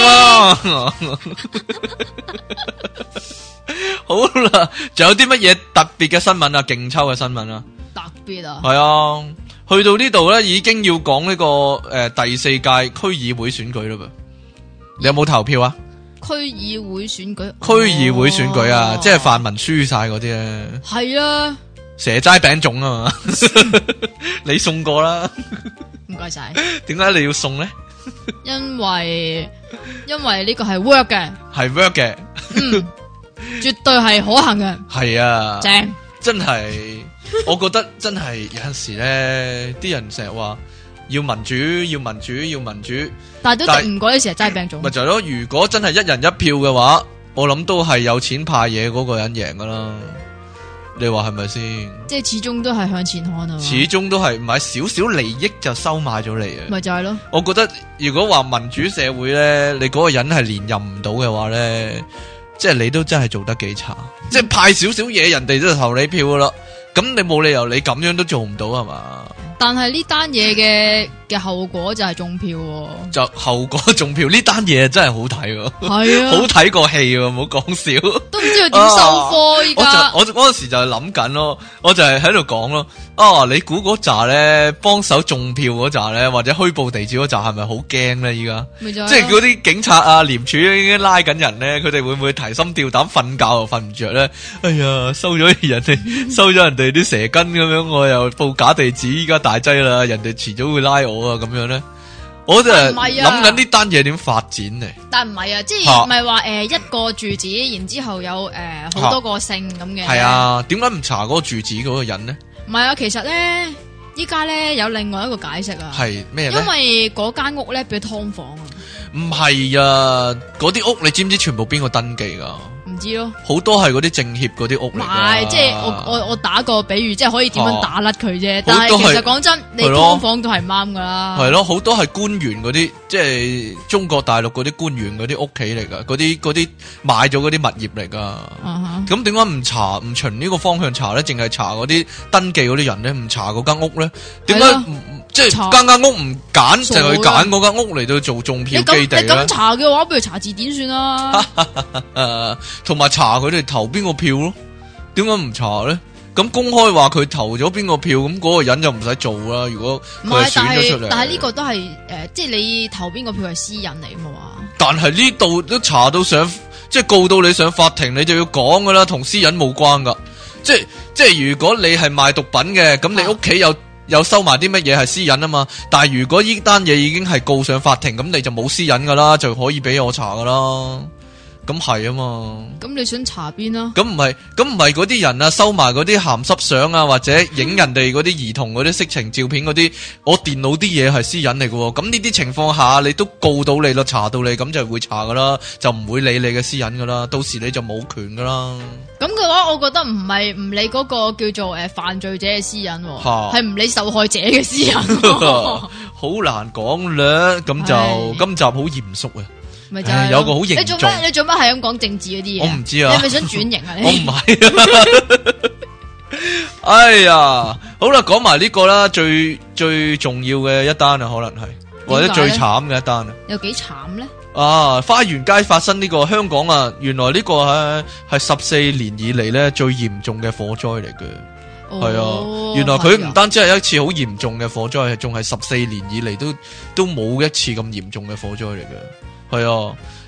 好啦，仲有啲乜嘢特別嘅新聞啊？勁抽嘅新聞啊？ 特別啊？ 係啊，去到呢度咧，已經要講呢個誒第四屆區議會選舉啦噃。你有冇投票啊？ 區議會選舉， 區議會選舉啊，哦、即係泛民輸晒嗰啲咧。 係啊， 蛇齋餅粽啊嘛，你送過啦。 唔該晒。點解你要送咧？ 因為因為呢個係 work 嘅， 係 work 嘅， 嗯，絕對係可行嘅。 係啊， 正， 真係，我覺得真係有陣時咧，啲人成日話。要民主，要民主，要民主， 但係都敵唔過呢時係齋餅種。 咪就係咯，如果真係一人一票嘅話，我諗都係有錢派嘢嗰個人贏噶啦。你話係咪先？即係始終都係向前看啊！ 始終都係唔係少少利益就收買咗你啊！ 咪就係咯。 我覺得如果話民主社會咧，你嗰個人係連任唔到嘅話咧，即係你都真係做得幾差。嗯、即係派少少嘢，人哋都投你票噶啦。咁你冇理由你咁樣都做唔到係嘛？ 但係呢單嘢嘅嘅後果就係中票、哦， 就後果中票呢單嘢真係好睇喎， 係啊， 好睇過戲喎，唔好講笑， 都唔知佢點收科依家。 我嗰陣時就係諗緊咯，我就係喺度講咯，啊，你估嗰扎咧幫手中票嗰扎咧，或者虛報地址嗰扎係咪好驚咧？依家即係嗰啲警察啊、廉署已經拉緊人咧，佢哋會唔會提心吊膽瞓覺又瞓唔着咧？哎呀，收咗人哋，收咗人哋啲蛇根咁樣，我又報假地址，依家大劑啦，人哋遲早會拉我啊，咁樣咧，我就係諗緊呢單嘢點發展嚟。 但唔係啊，即係唔係話誒一個住址，然之後有誒好、呃、多個姓咁嘅。係啊，點解唔查嗰個住址嗰個人呢？ 唔係啊，其實咧，依家咧有另外一個解釋啊。 係咩咧？ 因為嗰間屋咧變劏房啊。 唔係啊，嗰啲屋你知唔知全部邊個登記噶？ 唔知咯， 好多係嗰啲政協嗰啲屋嚟。唔係， 即係我我我打個比喻，即係可以點樣打甩佢啫。但係其實講真，你劏房都係啱噶啦。係咯， 好多係官員嗰啲，即係中國大陸嗰啲官員嗰啲屋企嚟噶，嗰啲嗰啲買咗嗰啲物業嚟噶。咁點解唔查唔循呢個方向查咧？淨係查嗰啲登記嗰啲人咧，唔查嗰間屋咧？點解即係間間屋唔揀，就去揀嗰間屋嚟到做種票基地咧？ 你咁查嘅話，不如查字典算啦。 誒，同埋查佢哋投邊個票咯？點解唔查咧？咁公開話佢投咗邊個票，咁嗰個人就唔使做啦。如果佢係選咗出嚟， 但係呢個都係誒、呃，即係你投邊個票係私隱嚟嘛？ 但係呢度都查到上，即係告到你上法庭，你就要講噶啦，同私隱冇關噶。即係即係，如果你係賣毒品嘅，咁你屋企有。啊有收埋啲乜嘢係私隱啊嘛，但係如果呢單嘢已經係告上法庭，咁你就冇私隱噶啦，就可以俾我查噶啦。咁係啊嘛。咁你想查邊啊？ 咁唔係，咁唔係嗰啲人啊，收埋嗰啲鹹濕相啊，或者影人哋嗰啲兒童嗰啲色情照片嗰啲，我電腦啲嘢係私隱嚟噶。咁呢啲情況下，你都告到你咯，查到你，咁就會查噶啦，就唔會理你嘅私隱噶啦，到時你就冇權噶啦。咁嘅話，我覺得唔係唔理嗰個叫做誒犯罪者嘅私隱，係唔理受害者嘅私隱。 好難講啦，咁就今集好嚴肅啊。 咪就係有個好嚴重。 你做乜？你做乜係咁講政治嗰啲嘢？ 我唔知啊。 你係咪想轉型啊？你我唔係。哎呀，好啦，講埋呢個啦，最最重要嘅一單啊，可能係或者最慘嘅一單啊。 有幾慘咧？ 啊！花園街發生呢個香港啊，原來呢個係係十四年以嚟咧最嚴重嘅火災嚟嘅。係、哦、啊，原來佢唔單止係一次好嚴重嘅火災，係仲係十四年以嚟都都冇一次咁嚴重嘅火災嚟嘅。係啊，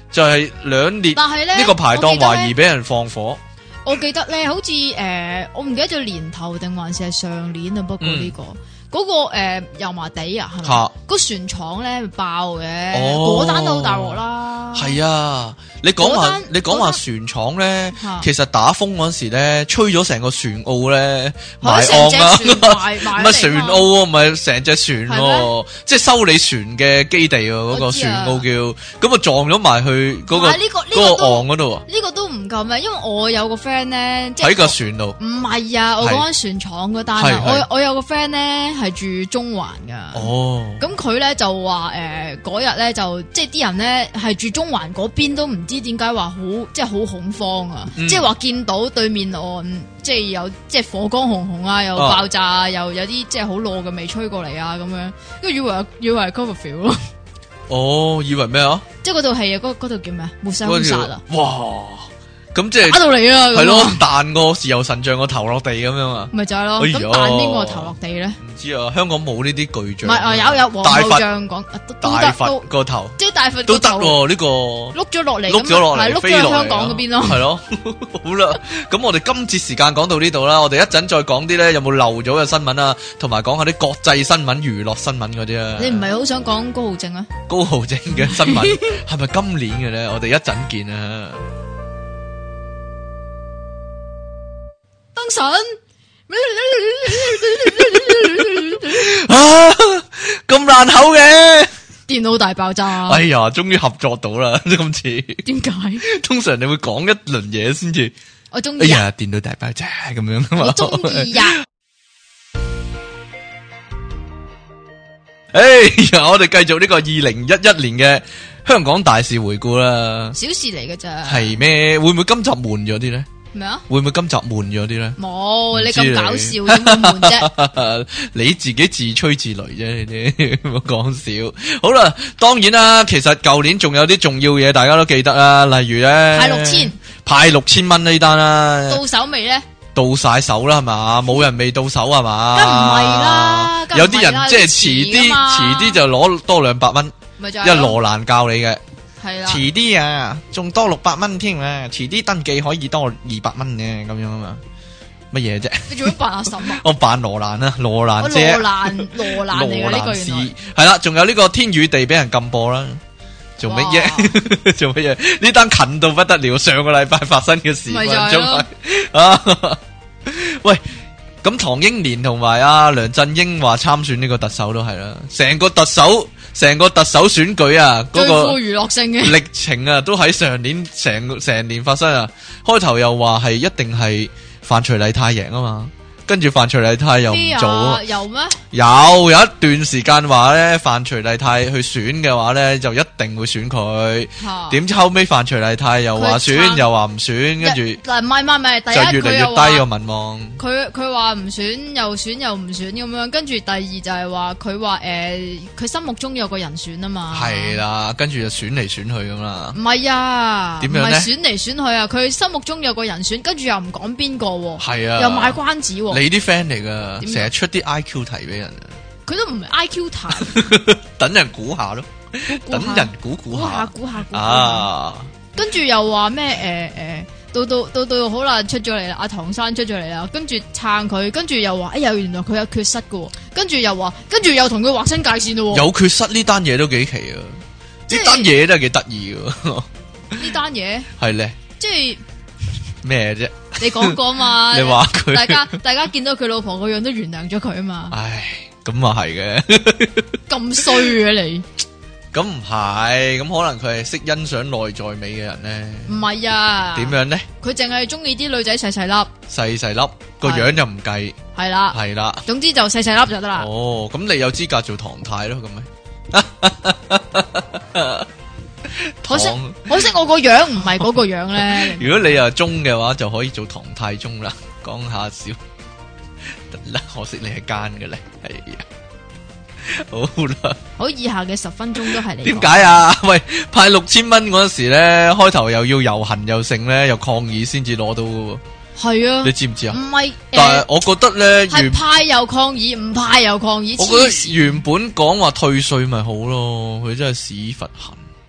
就係兩列， 但係咧呢個排檔懷疑俾人放火。 我記得咧，好似誒、呃，我唔記得咗年頭定還是係上年啊。不過呢、這個嗰、嗯、個誒、呃、油麻地啊，係咪？個船廠咧爆嘅，嗰單都好大鑊啦。係啊，你講話你講話船廠咧，其實打風嗰時咧，吹咗成個船澳咧埋岸啦，唔係船澳，唔係成隻船，即係修理船嘅基地啊，嗰個船澳叫，咁啊撞咗埋去嗰個嗰個岸嗰度啊。 呢個都唔夠咩？因為我有個 friend 咧，即係喺個船度。 唔係啊，我講緊船廠嗰單啊，我我有個 friend 咧係住中環噶。哦，咁佢咧就話誒嗰日咧就即係啲人咧係住中環嗰邊都唔知點解話好即係好恐慌啊！嗯、即係話見到對面岸即係有即係火光紅紅啊，又爆炸啊，又有啲即係好燶嘅味吹過嚟啊咁樣，跟住以為以為係 Cloverfield 咯。 哦，以為咩啊？ 即係嗰套戲啊，嗰嗰套叫咩？末世兇殺啊！ 哇！咁即係打到你啦， 係咯，彈個豉油神像個頭落地咁樣啊， 咪就係咯。咁彈邊個頭落地咧？唔知啊，香港冇呢啲巨像。 唔係啊，有有黃牛像講， 大佛個頭， 即係大佛都得喎。呢個碌咗落嚟， 碌咗落嚟， 碌咗去香港嗰邊咯。 係咯，好啦，咁我哋今節時間講到呢度啦，我哋一陣再講啲咧，有冇漏咗嘅新聞啊，同埋講下啲國際新聞、娛樂新聞嗰啲啊。你唔係好想講高浩正啊？ 高浩正嘅新聞係咪今年嘅咧？我哋一陣見啊！ 燈神啊，咁爛口嘅電腦大爆炸！ 哎呀，終於合作到啦！今次點解？ 通常你會講一輪嘢先至， 我中意。 哎呀，電腦大爆炸咁樣噶嘛？ 我中意呀！ 哎呀，我哋繼續呢個二零一一年嘅香港大事回顧啦。 小事嚟㗎咋？ 係咩？會唔會今集悶咗啲咧？ 咩啊？ 會唔會今集悶咗啲咧？ 冇，你咁搞笑點會悶啫？ 你自己自吹自擂啫，你啲唔好講笑。好啦，當然啦，其實舊年仲有啲重要嘢，大家都記得啦，例如咧派六千， 派六千蚊呢單啦， 到手未咧？ 到晒手啦係嘛？冇人未到手係嘛？ 梗唔係啦， 有啲人即係遲啲，遲啲就攞多兩百蚊，因為羅蘭教你嘅。係啦，遲啲啊，仲多六百蚊添啊！遲啲登記可以多二百蚊嘅咁樣啊嘛，乜嘢啫？你做乜扮阿嬸啊？我扮羅蘭啊，羅蘭姐， 羅蘭羅蘭嚟嘅呢個原來係啦，仲有呢個天與地俾人禁播啦，做乜嘢？做乜嘢？呢單近到不得了，上個禮拜發生嘅事，咪就係啊！喂，咁唐英年同埋阿梁振英話參選呢個特首都係啦，成個特首。成個特首選舉啊，嗰、那個娛樂性嘅歷程啊，都喺上年成成年發生啊。開頭又話係一定係范徐麗泰贏啊嘛。跟住范徐麗泰又唔做啊？ 有咩？ 有有一段時間話咧，范徐麗泰去選嘅話咧，就一定會選佢。點知後尾范徐麗泰又話選，又話唔選，跟住嗱唔係唔係唔係，第一就越嚟越低個民望。 佢佢話唔選又選又唔選咁樣，跟住第二就係話佢話誒，佢、呃、心目中有個人選啊嘛。係啦， 跟住就選嚟選去咁啦。 唔係啊， 點樣咧？ 唔係選嚟選去啊，佢心目中有個人選，跟住又唔講邊個。 係啊， 又賣關子。 你啲 friend 嚟噶，成日出啲 I Q 題俾人啊！ 佢都唔係 I Q 題， 等人估下咯，等人估估下， 估下估下啊！跟住又話咩？誒誒，到到到到好啦，出咗嚟啦，阿唐生出咗嚟啦，跟住撐佢，跟住又話，哎呀，原來佢有缺失噶，跟住又話，跟住又同佢劃清界線咯。有缺失呢單嘢都幾奇啊！呢單嘢都係幾得意噶。 呢單嘢係咧， 即係咩啫？ 你講過嘛？ 你話佢， 大家大家見到佢老婆個樣都原諒咗佢啊嘛？ 唉，咁啊係嘅， 咁衰嘅你， 咁唔係，咁可能佢係識欣賞內在美嘅人咧？ 唔係啊？ 點樣咧？ 佢淨係中意啲女仔細細粒， 細細粒個樣就唔計， 係啦， 係啦， 總之就細細粒就得啦。 哦，咁你有資格做唐太咯？咁咪？ 可惜可惜我個樣唔係嗰個樣咧。 如果你又中嘅話，就可以做唐太宗啦。講下笑，得啦。可惜你係奸嘅咧，係啊。好啦， 好，以下嘅十分鐘都係你。 點解啊？喂，派六千蚊嗰時咧，開頭又要遊行又剩咧，又抗議先至攞到嘅。係啊，你知唔知啊？唔係，但係我覺得咧， 係派又抗議，唔派又抗議。 我覺得原本講話退稅咪好咯，佢真係屎忽痕。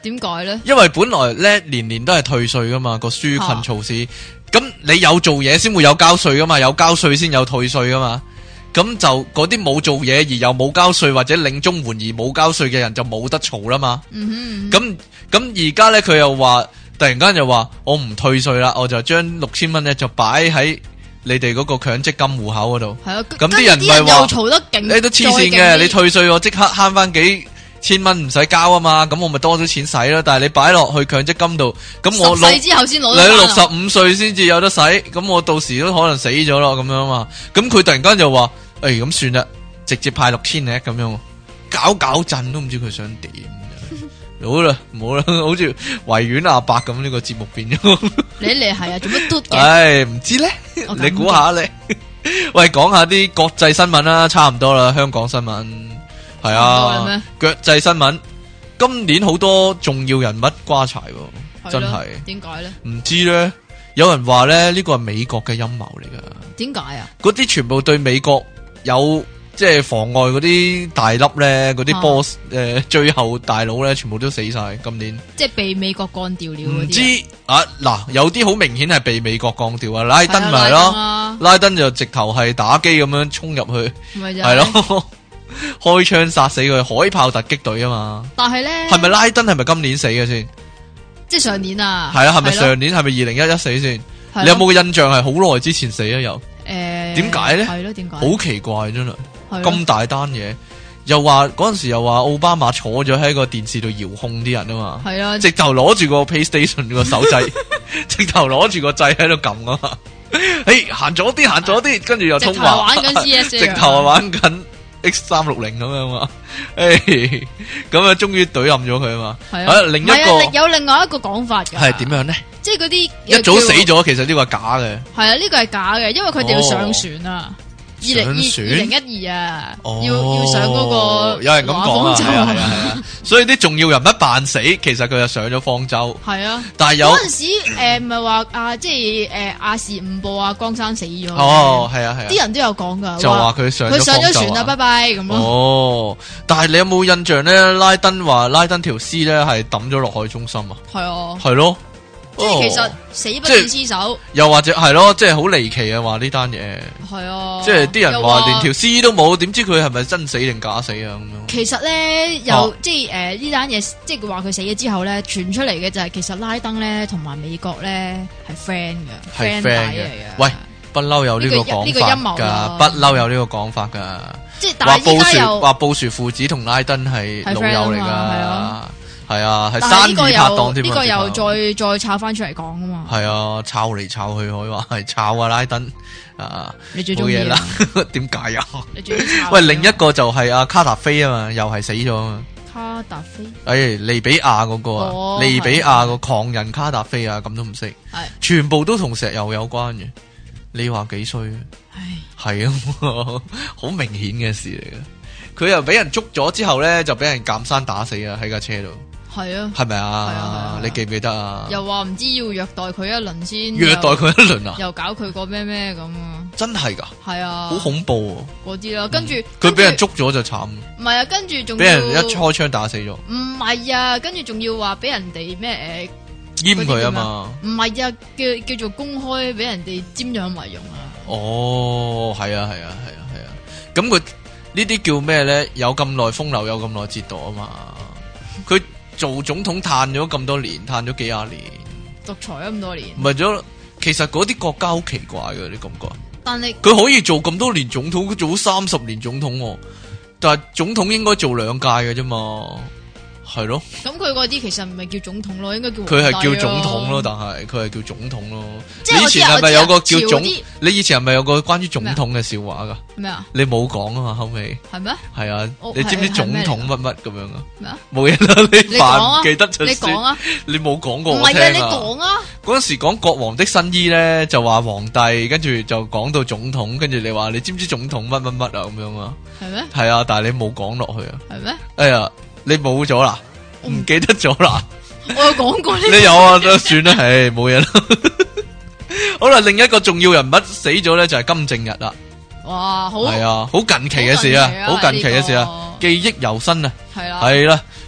點解咧？ 因為本來咧年年都係退稅噶嘛，個紓困措施。咁、啊、你有做嘢先會有交稅噶嘛，有交稅先有退稅噶嘛。咁就嗰啲冇做嘢而又冇交稅或者領綜援而冇交稅嘅人就冇得嘈啦嘛。 嗯哼， 咁咁而家咧佢又話突然間又話我唔退稅啦，我就將六千蚊咧就擺喺你哋嗰個強積金戶口嗰度。係啊，咁啲人唔係話嘈得勁， 你都黐線嘅，你退稅我即刻慳翻幾千蚊唔使交啊嘛，咁我咪多咗錢使咯。但係你擺落去強積金度，咁我六之後先攞， 你六十五歲先至有得使，咁我到時都可能死咗咯，咁樣嘛。咁佢突然間就話，誒、欸、咁算啦，直接派六千咧，咁樣搞搞震都唔知佢想點。好啦，唔好啦，好似維園阿伯咁呢個節目變咗。你嚟係啊，做乜嘟嘅？唉，唔知咧，你估下咧。喂，講下啲國際新聞啦，差唔多啦，香港新聞係啊，國際新聞今年好多重要人物瓜柴，真係。點解咧？唔知咧，有人話咧呢個係美國嘅陰謀嚟噶。點解啊？嗰啲全部對美國有。即係妨礙嗰啲大粒咧，嗰啲 boss 誒、啊，最後大佬咧，全部都死晒。今年即係被美國幹掉了嗰啲。唔知啊，嗱，有啲好明顯係被美國幹掉啊，拉登咪咯，啊、拉登就直頭係打機咁樣衝入去，係咯，開槍殺死佢，海豹突擊隊啊嘛。但係咧，係咪拉登係咪今年死嘅先？即係上年啊？係啊，係咪上年？係咪二零一一死先？你有冇個印象係好耐之前死啊？又誒，點解咧？係咯，點解？好奇怪真係。咁大單嘢，又話嗰陣時又話奧巴馬坐咗喺個電視度遙控啲人啊嘛，係啊，直頭攞住個 PlayStation 個手掣，直頭攞住個掣喺度撳啊嘛，誒行左啲行左啲，跟住又通話，玩緊 C S， 直頭係玩緊 X 三六零咁樣嘛，誒咁啊終於懟冧咗佢啊嘛，係啊，另一個有另外一個講法嘅，係點樣咧？即係嗰啲一早死咗，其實呢個係假嘅，係啊，呢個係假嘅，因為佢哋要上船啊。二零二二零一二啊，哦、要要上嗰個有人咁講啊，係啊係啊，所以啲重要人物扮死，其實佢就上咗方舟。係啊，但係有嗰陣時誒，唔係話啊，即係誒亞視五播啊，江山死咗。哦，係啊係啊，啲人都有講噶，就話佢上佢上咗船啦，拜拜咁咯。哦，但係你有冇印象咧？拉登話拉登條屍咧係抌咗落海中心啊？係啊，係咯。即係其實死不斷屍首，又或者係咯，即係好離奇啊！話呢單嘢係啊，即係啲人話連條屍都冇，點知佢係咪真死定假死啊？咁樣其實咧，又、啊、即係誒呢單嘢，即係話佢死咗之後咧，傳出嚟嘅就係其實拉登咧同埋美國咧係 friend 嘅，係 friend 嚟嘅。喂，不嬲有呢個講法噶，不嬲有呢個講法噶。即係話布殊話布殊父子同拉登係老友嚟噶。係啊，係生意拍檔添啊！呢個又再再炒翻出嚟講啊嘛！係啊，炒嚟炒去可以話係炒啊拉登啊！你最中意啦？點解啊？你最中意炒？喂，另一個就係阿卡達菲啊嘛，又係死咗啊！卡達菲？誒，利比亞嗰個啊，利比亞個狂人卡達菲啊，咁都唔識？係全部都同石油有關嘅。你話幾衰啊？係啊，好明顯嘅事嚟嘅。佢又俾人捉咗之後咧，就俾人監生打死啊！喺架車度。係啊，係咪啊？係啊，你記唔記得啊？又話唔知要虐待佢一輪先，虐待佢一輪啊？又搞佢個咩咩咁啊？真係噶？係啊，好恐怖嗰啲啦。跟住佢俾人捉咗就慘。唔係啊，跟住仲俾人一開槍打死咗。唔係啊，跟住仲要話俾人哋咩誒閹佢啊嘛？唔係啊，叫叫做公開俾人哋瞻仰遺容啊。哦，係啊，係啊，係啊，係啊。咁佢呢啲叫咩咧？有咁耐風流，有咁耐折墮啊嘛。佢做總統嘆咗咁多年，嘆咗幾廿年，獨裁咗咁多年。唔係咗，其實嗰啲國家好奇怪嘅，你感覺？但係佢可以做咁多年總統，佢做咗三十年總統，但係總統應該做兩屆嘅啫嘛。係咯，咁佢嗰啲其實唔係叫總統咯，應該叫佢係叫總統咯，但係佢係叫總統咯。即係你以前係咪有個叫總？你以前係咪有個關於總統嘅笑話噶？咩啊？你冇講啊嘛，後尾係咩？係啊，你知唔知總統乜乜咁樣啊？咩啊？冇嘢啦，你扮記得出你講啊？你冇講過我聽啊？唔係啊，你講啊？嗰陣時講國王的新衣咧，就話皇帝，跟住就講到總統，跟住你話你知唔知總統乜乜乜啊？咁樣啊？係咩？係啊，但係你冇講落去啊？係咩？哎呀！你冇咗啦，唔記得咗啦。我有講過呢。你有啊，都算啦，唉，冇嘢啦。好啦，另一個重要人物死咗咧，就係金正日啦。哇，好係啊，好近期嘅事啊，好近期嘅事啊，記憶猶新啊。係啦，係啦，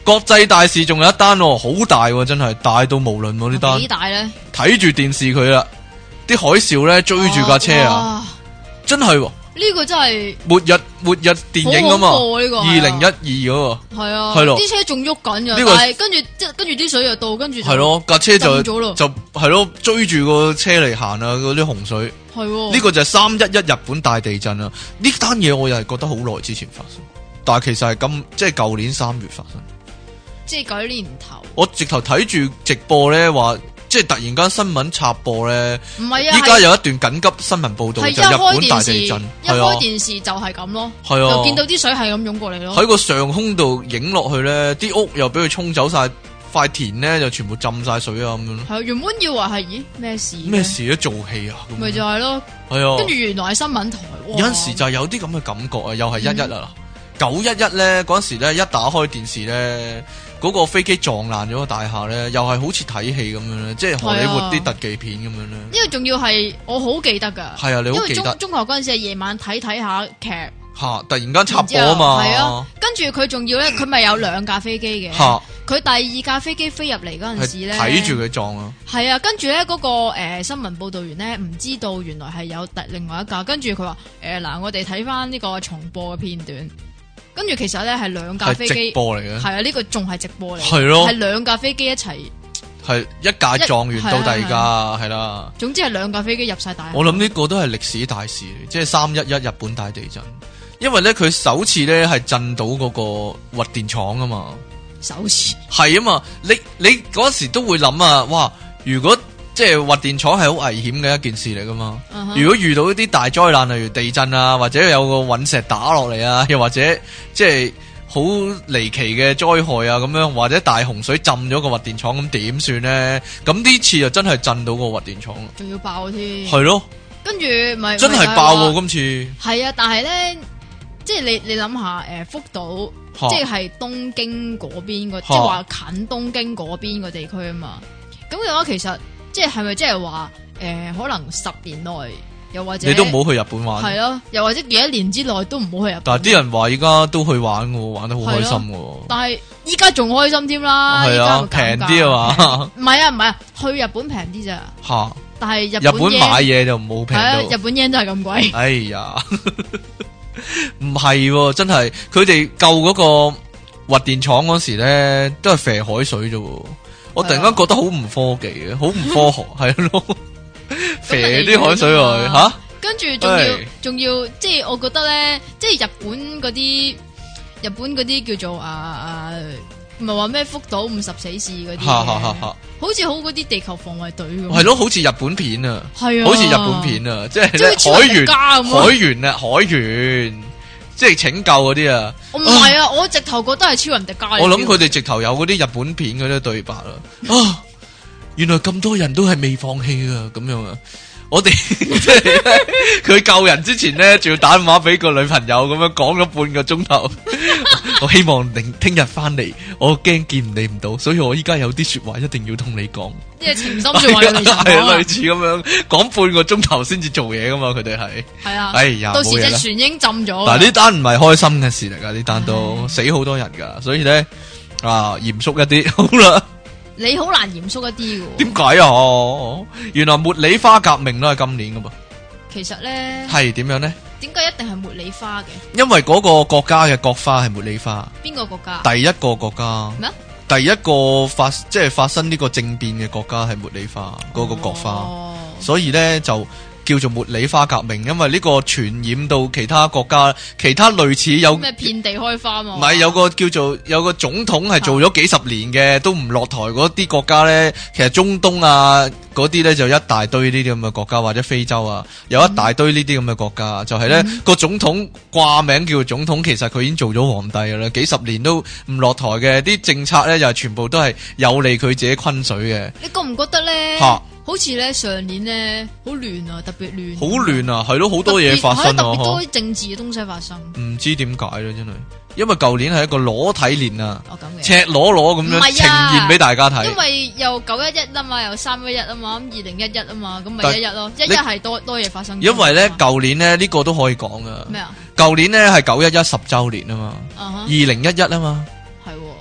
國際大事仲有一單喎，好大喎，真係大到無倫喎呢單。 幾大咧？ 睇住電視佢啦，啲海嘯咧追住架車啊，真係喎。 呢個真係末日末日電影啊嘛，二零一二嗰個係啊， 係咯， 啲車仲喐緊噶， 呢個但係跟住即跟住啲水又到，跟住係咯，架車就就係咯追住個車嚟行啊，嗰啲洪水係呢個就係三一一日本大地震啊！呢單嘢我又係覺得好耐之前發生，但係其實係今即係舊年三月發生， 即係舊年年頭。 我直頭睇住直播咧話。即係突然間新聞插播咧， 唔係啊！ 依家有一段緊急新聞報道，就日本大地震， 一開電視就係咁咯， 係啊， 就見到啲水係咁湧過嚟咯。 喺個上空度影落去咧，啲屋又俾佢沖走晒，塊田咧就全部浸晒水啊咁樣。 係原本以為係咦咩事？ 咩事咧？做戲啊？ 咪就係咯， 係啊。 跟住原來係新聞台。 有陣時就係有啲咁嘅感覺啊，又係一一啊，九一一咧嗰陣時咧，一打開電視咧。嗰個飛機撞爛咗個大廈咧，又係好似睇戲咁樣咧，即係荷里活啲特技片咁樣咧。 因為仲要係我好記得噶， 係啊，你好記得。 因為中中學嗰陣時係夜晚睇睇下劇， 吓突然間插播啊嘛， 係啊，跟住佢仲要咧，佢咪有兩架飛機嘅， 吓佢第二架飛機飛入嚟嗰陣時咧， 睇住佢撞啊， 係啊，跟住咧嗰個誒、呃、新聞報道員咧唔知道原來係有第另外一架，跟住佢話誒嗱，我哋睇翻呢個重播嘅片段。跟住其實咧係兩架飛機直播嚟嘅， 係啊，呢個仲係直播嚟， 係咯， 係兩架飛機一齊， 係一架撞完到第二架，係啦。 總之係兩架飛機入晒大。 我諗呢個都係歷史大事，即係三一一日本大地震，因為咧佢首次咧係震到嗰個核電廠啊嘛， 首次係啊嘛，你你嗰時都會諗啊，哇，如果即係核電廠係好危險嘅一件事嚟噶嘛。Uh huh. 如果遇到一啲大災難，例如地震啊，或者有個隕石打落嚟啊，又或者即係好離奇嘅災害啊，咁樣或者大洪水浸咗個核電廠，咁點算呢？咁呢次就真係震到個核電廠， 仲要爆添。 係咯， 跟住咪真係爆喎！今次係啊，但係咧，即係你你諗下，誒，福島哈即係東京嗰邊個，哈即係話近東京嗰邊個地區啊嘛。咁嘅話，其實。即係係咪即係話誒，可能十年內又或者你都唔好去日本玩， 係咯，又或者幾多年之內都唔好去日本。 但係啲人話依家都去玩嘅，玩得好開心嘅。 但係依家仲開心添啦， 係啊，平啲啊嘛。 唔係啊，唔係啊，去日本平啲咋吓？但係日日本買嘢就冇平到， 日本 yen 都係咁貴。 哎呀，唔係真係，佢哋救嗰個核電廠嗰時咧，都係肥海水啫。我突然間覺得好唔科技嘅，好唔科學，係咯，肥啲海水落去吓， 跟住仲要仲要，即係我覺得咧，即係日本嗰啲日本嗰啲叫做啊啊，唔係話咩福島五十死士嗰啲，好似好嗰啲地球防衛隊咁，係咯，好似日本片啊， 係啊， 好似日本片啊，即係海員海員啊，海員。即係拯救嗰啲啊！ 唔係啊，我直頭覺得係超人迪迦。 我諗佢哋直頭有嗰啲日本片嗰啲對白啦。啊，原來咁多人都係未放棄啊！咁樣啊，我哋即係佢救人之前咧，仲要打電話俾個女朋友咁樣講咗半個鐘頭。我希望明聽日翻嚟，我驚見你唔到，所以我依家有啲說話一定要同你講。 即係情深說話嘅係類似咁樣講半個鐘頭先至做嘢噶嘛，佢哋係係啊。 哎呀， 到時隻船已經浸咗。 嗱，呢單唔係開心嘅事嚟噶，呢單都死好多人噶，所以咧啊，嚴肅一啲好啦。 你好難嚴肅一啲嘅。 點解啊？原來茉莉花革命都係今年噶噃。其實咧係點樣咧？ 點解一定係茉莉花嘅？ 因為嗰個國家嘅國花係茉莉花。 邊個國家？ 第一個國家咩？第一個發即係發生呢個政變嘅國家係茉莉花嗰、嗰個國花，哦、所以咧就叫做茉莉花革命，因為呢個傳染到其他國家，其他類似有咩遍地開花嘛？ 唔係有個叫做有個總統係做咗幾十年嘅，啊、都唔落台嗰啲國家咧，其實中東啊嗰啲咧就一大堆呢啲咁嘅國家，或者非洲啊有一大堆呢啲咁嘅國家，嗯、就係咧、嗯、個總統掛名叫做總統，其實佢已經做咗皇帝噶啦，幾十年都唔落台嘅，啲政策咧就係全部都係有利佢自己昆水嘅。 你覺唔覺得咧？吓？好似咧上年咧好亂啊，特別亂。好亂啊，係咯，好多嘢發生啊， 特別多政治嘅東西發生。 唔知點解咧，真係，因為舊年係一個裸體年啊， 哦咁嘅， 赤裸裸咁樣呈現俾大家睇。 因為又九一一啊嘛，又三一一啊嘛，咁二零一一啊嘛，咁咪一一咯，一一係多多嘢發生。 因為咧舊年咧呢個都可以講噶。 咩啊？ 舊年咧係九一一十周年啊嘛，二零一一啊嘛。 係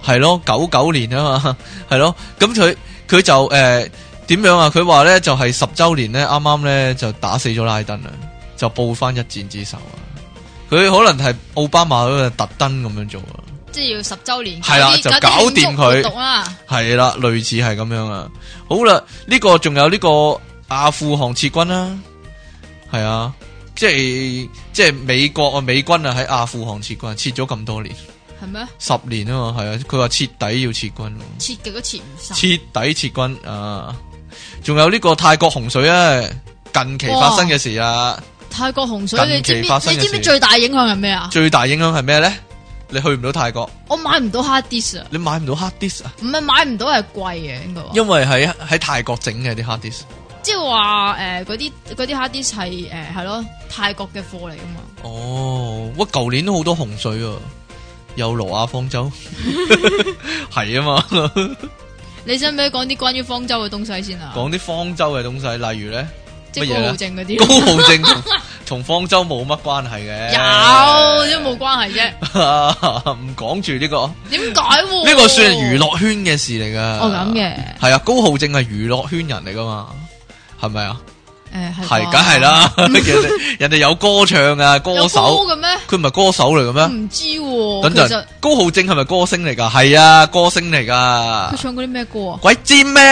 係咯，九九年啊嘛，係咯，咁佢佢就誒點、呃、樣啊？佢話咧就係、是、十周年咧，啱啱咧就打死咗拉登啊，就報翻一戰之仇啊！佢可能係奧巴馬嗰個特登咁樣做啊，即係要十周年， 係啦，就搞掂佢，係啦，類似係咁樣啊。好啦，呢、這個仲有呢個阿富汗撤軍啦，係啊，即係即係美國啊，美軍啊喺阿富汗撤軍，撤咗咁多年，係咩？十年啊嘛，係啊，佢話徹底要撤軍， 撤極都撤唔晒， 徹底撤軍啊！仲有呢個泰國洪水啊，近期發生嘅事啊。 泰國洪水，你知唔知？你知唔知最大影響係咩啊？ 最大影響係咩咧？你去唔到泰國， 我買唔到 hard disk 啊！ 你買唔到 hard disk 啊？ 唔係買唔到，係貴嘅應該。 因為喺喺泰國整嘅啲 hard disk， 即係話誒嗰啲嗰啲 hard disk 係誒係咯泰國嘅貨嚟噶嘛。 哦，喂，舊年都好多洪水啊，有羅亞方舟，係啊嘛。 你想唔想講啲關於方舟嘅東西先啊？ 講啲方舟嘅東西，例如咧。 即係高浩正嗰啲， 高浩正同同方舟冇乜關係嘅， 有都冇關係啫。 唔講住呢個， 點解？ 呢個算係娛樂圈嘅事嚟噶。 哦咁嘅， 係啊，高浩正係娛樂圈人嚟噶嘛，係咪啊？ 誒係， 係梗係啦。人哋人哋有歌唱啊，歌手嘅咩？ 佢唔係歌手嚟嘅咩？ 唔知。 等陣，高浩正係咪歌星嚟噶？係啊，歌星嚟噶。 佢唱過啲咩歌啊？ 鬼知咩？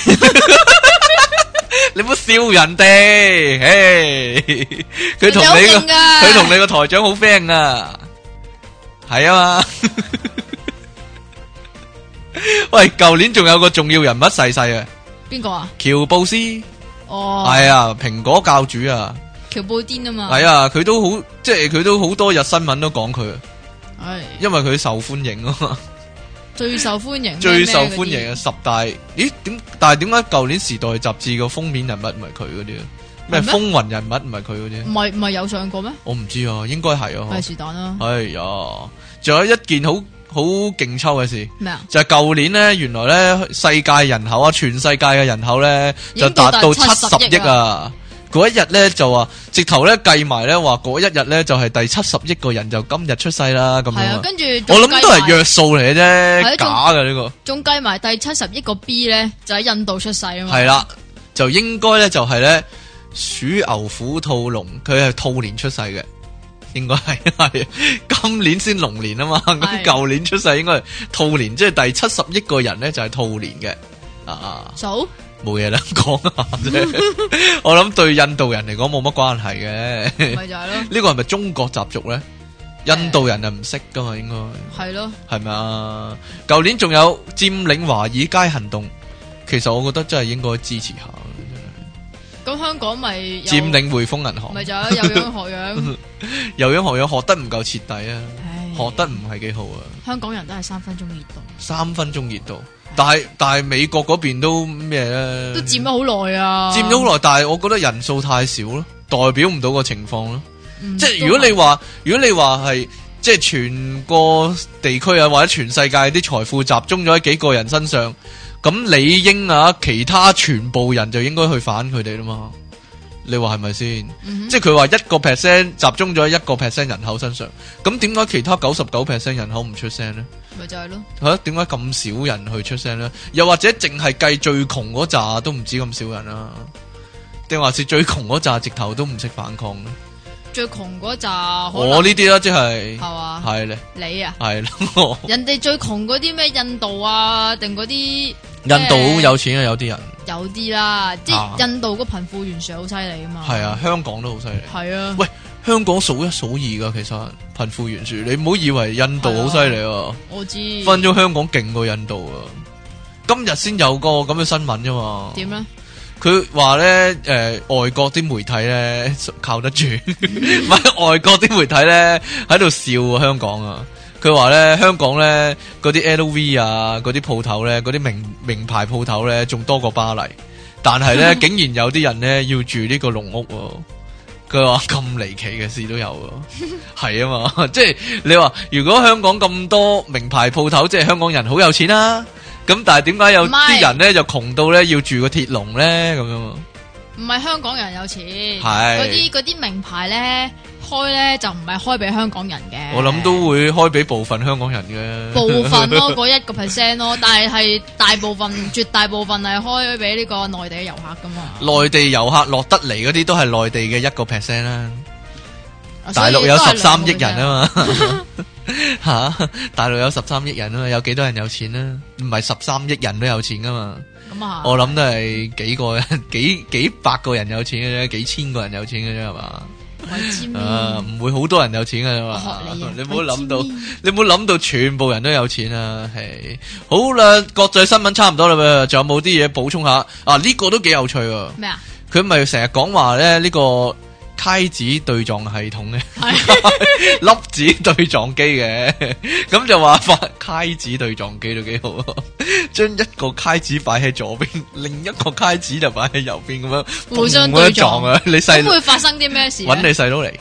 你唔好笑人哋，佢同你個佢同你個台長好 friend 啊，係啊嘛。喂，舊年仲有個重要人物逝世啊，邊個啊？ 喬布斯， 哦， 係啊，蘋果教主啊， 喬布丁啊嘛， 係啊，佢都好，即係佢都好多日新聞都講佢， 係， 因為佢受歡迎啊嘛。 最受歡迎， 最受歡迎嘅十大，咦？點？但係點解舊年《時代》雜誌個封面人物唔係佢嗰啲啊？咩風雲人物唔係佢嗰啲？ 唔係唔係有上過咩？ 我唔知啊，應該係啊。 係是但啦。 哎呀，仲有一件好好勁抽嘅事， 咩啊？ 就係舊年咧，原來咧世界人口啊，全世界嘅人口咧就達到七十億啊！嗰一日咧就話，直頭咧計埋咧話，嗰一日咧就係第七十億個人就今日出世啦，咁樣。係啊，跟住我諗都係約數嚟嘅啫，假嘅呢個。仲計埋第七十億個 B 咧，就喺印度出世啊嘛。係啦，就應該咧就係咧鼠牛虎兔龍，佢係兔年出世嘅，應該係係今年先龍年啊嘛，咁舊年出世應該係兔年，即係第七十億個人咧就係兔年嘅啊。數。冇嘢啦，講下啫。我諗對印度人嚟講冇乜關係嘅。咪就係咯。呢個係咪中國習俗咧？印度人係唔識噶嘛，應該係咯。係咪啊？舊年仲有佔領華爾街行動，其實我覺得真係應該支持下。咁香港咪佔領匯豐銀行？咪就係有樣學樣，有樣學樣，學得唔夠徹底啊！學得唔係幾好啊！香港人都係三分鐘熱度，三分鐘熱度。但係但係美國嗰邊都咩咧？都佔咗好耐啊！佔咗好耐，但係我覺得人數太少咯，代表唔到個情況咯。嗯、即係如果你話，如果你話係即係全個地區啊，或者全世界啲財富集中咗喺幾個人身上，咁理應啊，其他全部人就應該去反佢哋啦嘛。你話係咪先？嗯、即係佢話一個 percent 集中咗喺一個 percent 人口身上，咁點解其他九十九 percent 人口唔出聲呢？咪就係咯。吓，點解咁少人去出聲呢？又或者淨係計最窮嗰扎都唔止咁少人啊？定還是最窮嗰扎直頭都唔識反抗呢？最窮嗰扎，我呢啲啦，即係係嘛，係咧，你啊，係咯，人哋最窮嗰啲咩印度啊，定嗰啲印度好有錢啊，有啲人有啲啦，即係印度個貧富懸殊好犀利啊嘛，係啊，香港都好犀利，係啊，喂，香港數一數二噶，其實貧富懸殊，你唔好以為印度好犀利啊，我知，分咗香港勁過印度啊，今日先有個咁嘅新聞啫嘛，點咧？佢話咧，誒、呃，外國啲媒體咧靠得住，唔係外國啲媒體咧喺度笑香港啊。佢話咧，香港咧嗰啲 L V 啊，嗰啲鋪頭咧，嗰啲名名牌鋪頭咧，仲多過巴黎。但係咧，竟然有啲人咧要住呢個籠屋。佢話咁離奇嘅事都有，係啊嘛。即係你話，如果香港咁多名牌鋪頭，即係香港人好有錢啦。咁但係點解有啲人咧就窮到咧要住個鐵籠咧咁樣？唔係香港人有錢，係嗰啲嗰啲名牌咧開開咧就唔係開俾香港人嘅。 我諗都會開俾部分香港人嘅。 部分咯，嗰一個 percent 咯，但係係大部分、絕大部分係開俾呢個內地嘅遊客噶嘛。 內地遊客落得嚟嗰啲都係內地嘅一個 percent 啦。 啊、 大陸有十三億人啊嘛，吓，大陸有十三億人啊嘛，有幾多人有錢啊？唔係十三億人都有錢噶嘛。咁啊，我諗都係幾個人、幾幾百個人有錢嘅啫，幾千個人有錢嘅啫，係嘛？啊，唔會好多人有錢嘅嘛。你你唔好諗到，你唔好諗到全部人都有錢啊！係好啦，國際新聞差唔多啦噃，仲有冇啲嘢補充下？啊，呢、這個都幾有趣喎。咩啊？佢咪成日講話咧呢個揩子對撞系統嘅，粒子對撞機嘅，咁就話發揩子對撞機都幾好，將一個揩子擺喺左邊，另一個揩子就擺喺右邊咁樣互相對撞啊！你細咁會發生啲咩事？ 搵你細佬嚟。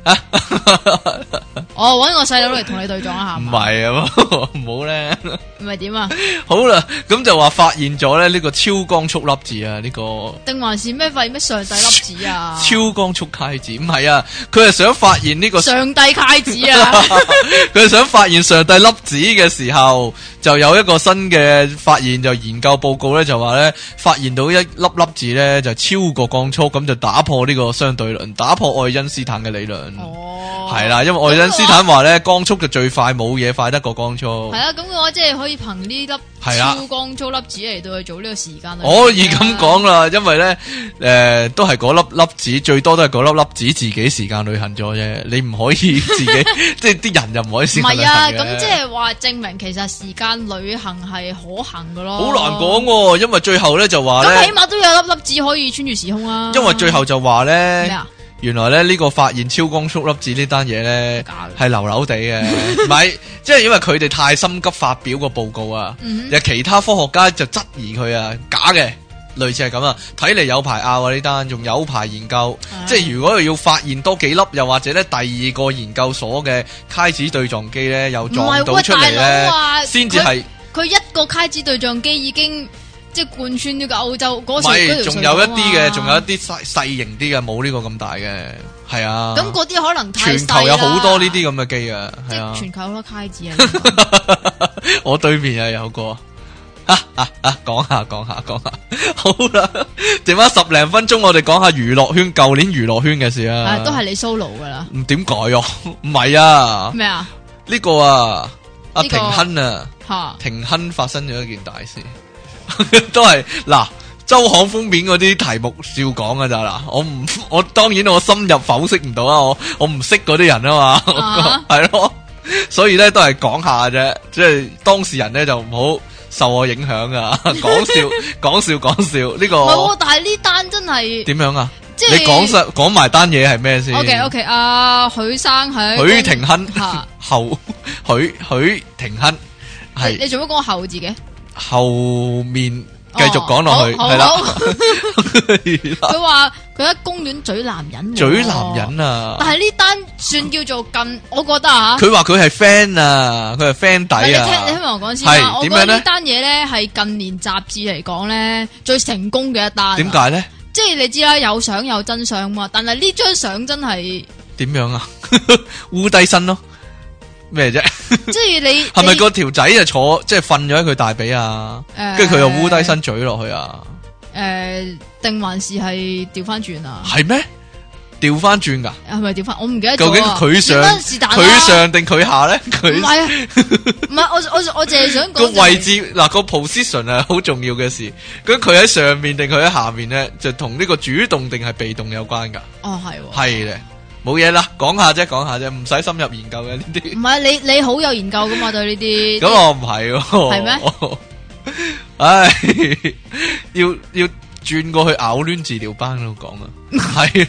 我搵我細佬嚟同你對撞一下。 唔係啊，唔好咧。 唔係點啊？ 好啦，咁就話發現咗咧呢個超光速粒子啊，呢、這個定還是咩發現咩上帝粒子啊？ 超光速揩子唔係啊，佢係想發現呢、這個上帝揩子啊！ 佢係想發現上帝粒子嘅時候，就有一個新嘅發現，就研究報告咧就話咧發現到一粒粒子咧就超過光速，咁就打破呢個相對論，打破愛因斯坦嘅理論。哦，係啦，因為愛因斯坦話咧光速就最快，冇嘢快得過光速。係啊， 咁嘅話即係可以憑呢粒超光速粒子嚟到去做呢個時間。 可以咁講啦，因為咧誒、呃、都係嗰粒粒子，最多都係嗰粒粒子自己時間旅行咗啫，你唔可以自己即係啲人就唔可以時間旅行嘅。唔係啊， 咁即係話證明其實時間旅行係可行嘅咯。 好難講喎，因為最後咧就話咧， 咁起碼都有粒粒子可以穿越時空啊。 因為最後就話咧。 咩啊？ 原來咧呢個發現超光速粒子呢單嘢咧係流流地嘅，唔係，即係因為佢哋太心急發表個報告啊，有其他科學家就質疑佢啊，假嘅，類似係咁啊，睇嚟有排拗啊呢單，仲有排研究，即係如果要發現多幾粒，又或者咧第二個研究所嘅揩子對撞機咧又撞到出嚟咧，先至係佢一個揩子對撞機已經。即係貫穿呢個歐洲嗰時， 唔係，仲有一啲嘅，仲有一啲細細型啲嘅，冇呢個咁大嘅，係啊。 咁嗰啲可能太細啦。 全球有好多呢啲咁嘅機啊，係啊。 全球好多揩子啊！ 我對面又有個啊啊啊！講下講下講下，好啦，剩翻十零分鐘，我哋講下娛樂圈，舊年娛樂圈嘅事啊。 係都係你 solo 噶啦。 唔點改啊？唔係啊。 咩啊？ 呢個啊，阿廷亨啊， 吓， 廷亨發生咗一件大事。都係嗱，周刊封面嗰啲題目照講噶咋嗱，我唔我當然我深入剖析唔到啊，我我唔識嗰啲人啊嘛，係、uh-huh. 咯，所以咧都係講下啫，即係當事人咧就唔好受我影響啊，講笑講笑講笑呢、這個。 唔係，但係呢單真係點樣啊？ 即係你講實講埋單嘢係咩先 ？OK OK， 阿、uh, 許生喺許廷鏗後許許廷鏗係你做乜講後字嘅？ 後面繼續講落去係啦， 佢話佢喺公園嘴男人， 嘴男人啊！ 但係呢單算叫做近，我覺得啊， 佢話佢係 friend 啊，佢係 friend 底啊。 你聽你聽我講先啦，我覺得呢單嘢咧係近年雜誌嚟講咧最成功嘅一單。 點解咧？ 即係你知啦，有相有真相嘛，但係呢張相真係點樣啊？烏低身咯。咩啫？ 即係你係咪個條仔就坐即係瞓咗喺佢大髀啊？跟住佢又烏低身嘴落去啊？ 誒、呃，定還是係調翻轉啊？ 係咩？調翻轉噶？ 係咪調翻？我唔記得咗。 究竟佢上佢上定佢下咧？佢唔係啊，唔係我我我淨係想講個位置嗱，個 position 係好重要嘅事。咁佢喺上面定佢喺下面咧，就同呢個主動定係被動有關噶。 哦，係係咧。冇嘢啦，講下啫，講下啫，唔使深入研究嘅呢啲。 唔係你你好有研究噶嘛？對呢啲。 咁我唔係喎。係咩？唉，要要轉過去咬攣治療班度講啊。係。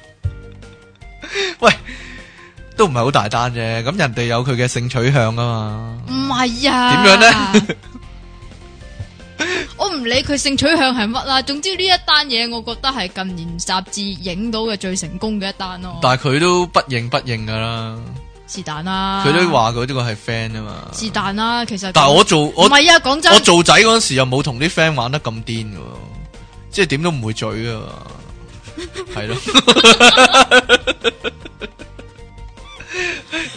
喂，都唔係好大單啫。咁人哋有佢嘅性取向啊嘛。 唔係啊。點樣咧？我唔理佢性取向係乜啦，總之呢一單嘢，我覺得係近年雜誌影到嘅最成功嘅一單咯。 但係佢都不認不認噶啦， 是但啦。 佢都話佢呢個係 friend 啊嘛。是但啦，其實。 但係我做我唔係啊，講真， 我做仔嗰陣時又冇同啲 friend 玩得咁癲噶，即係點都唔會嘴噶，係咯。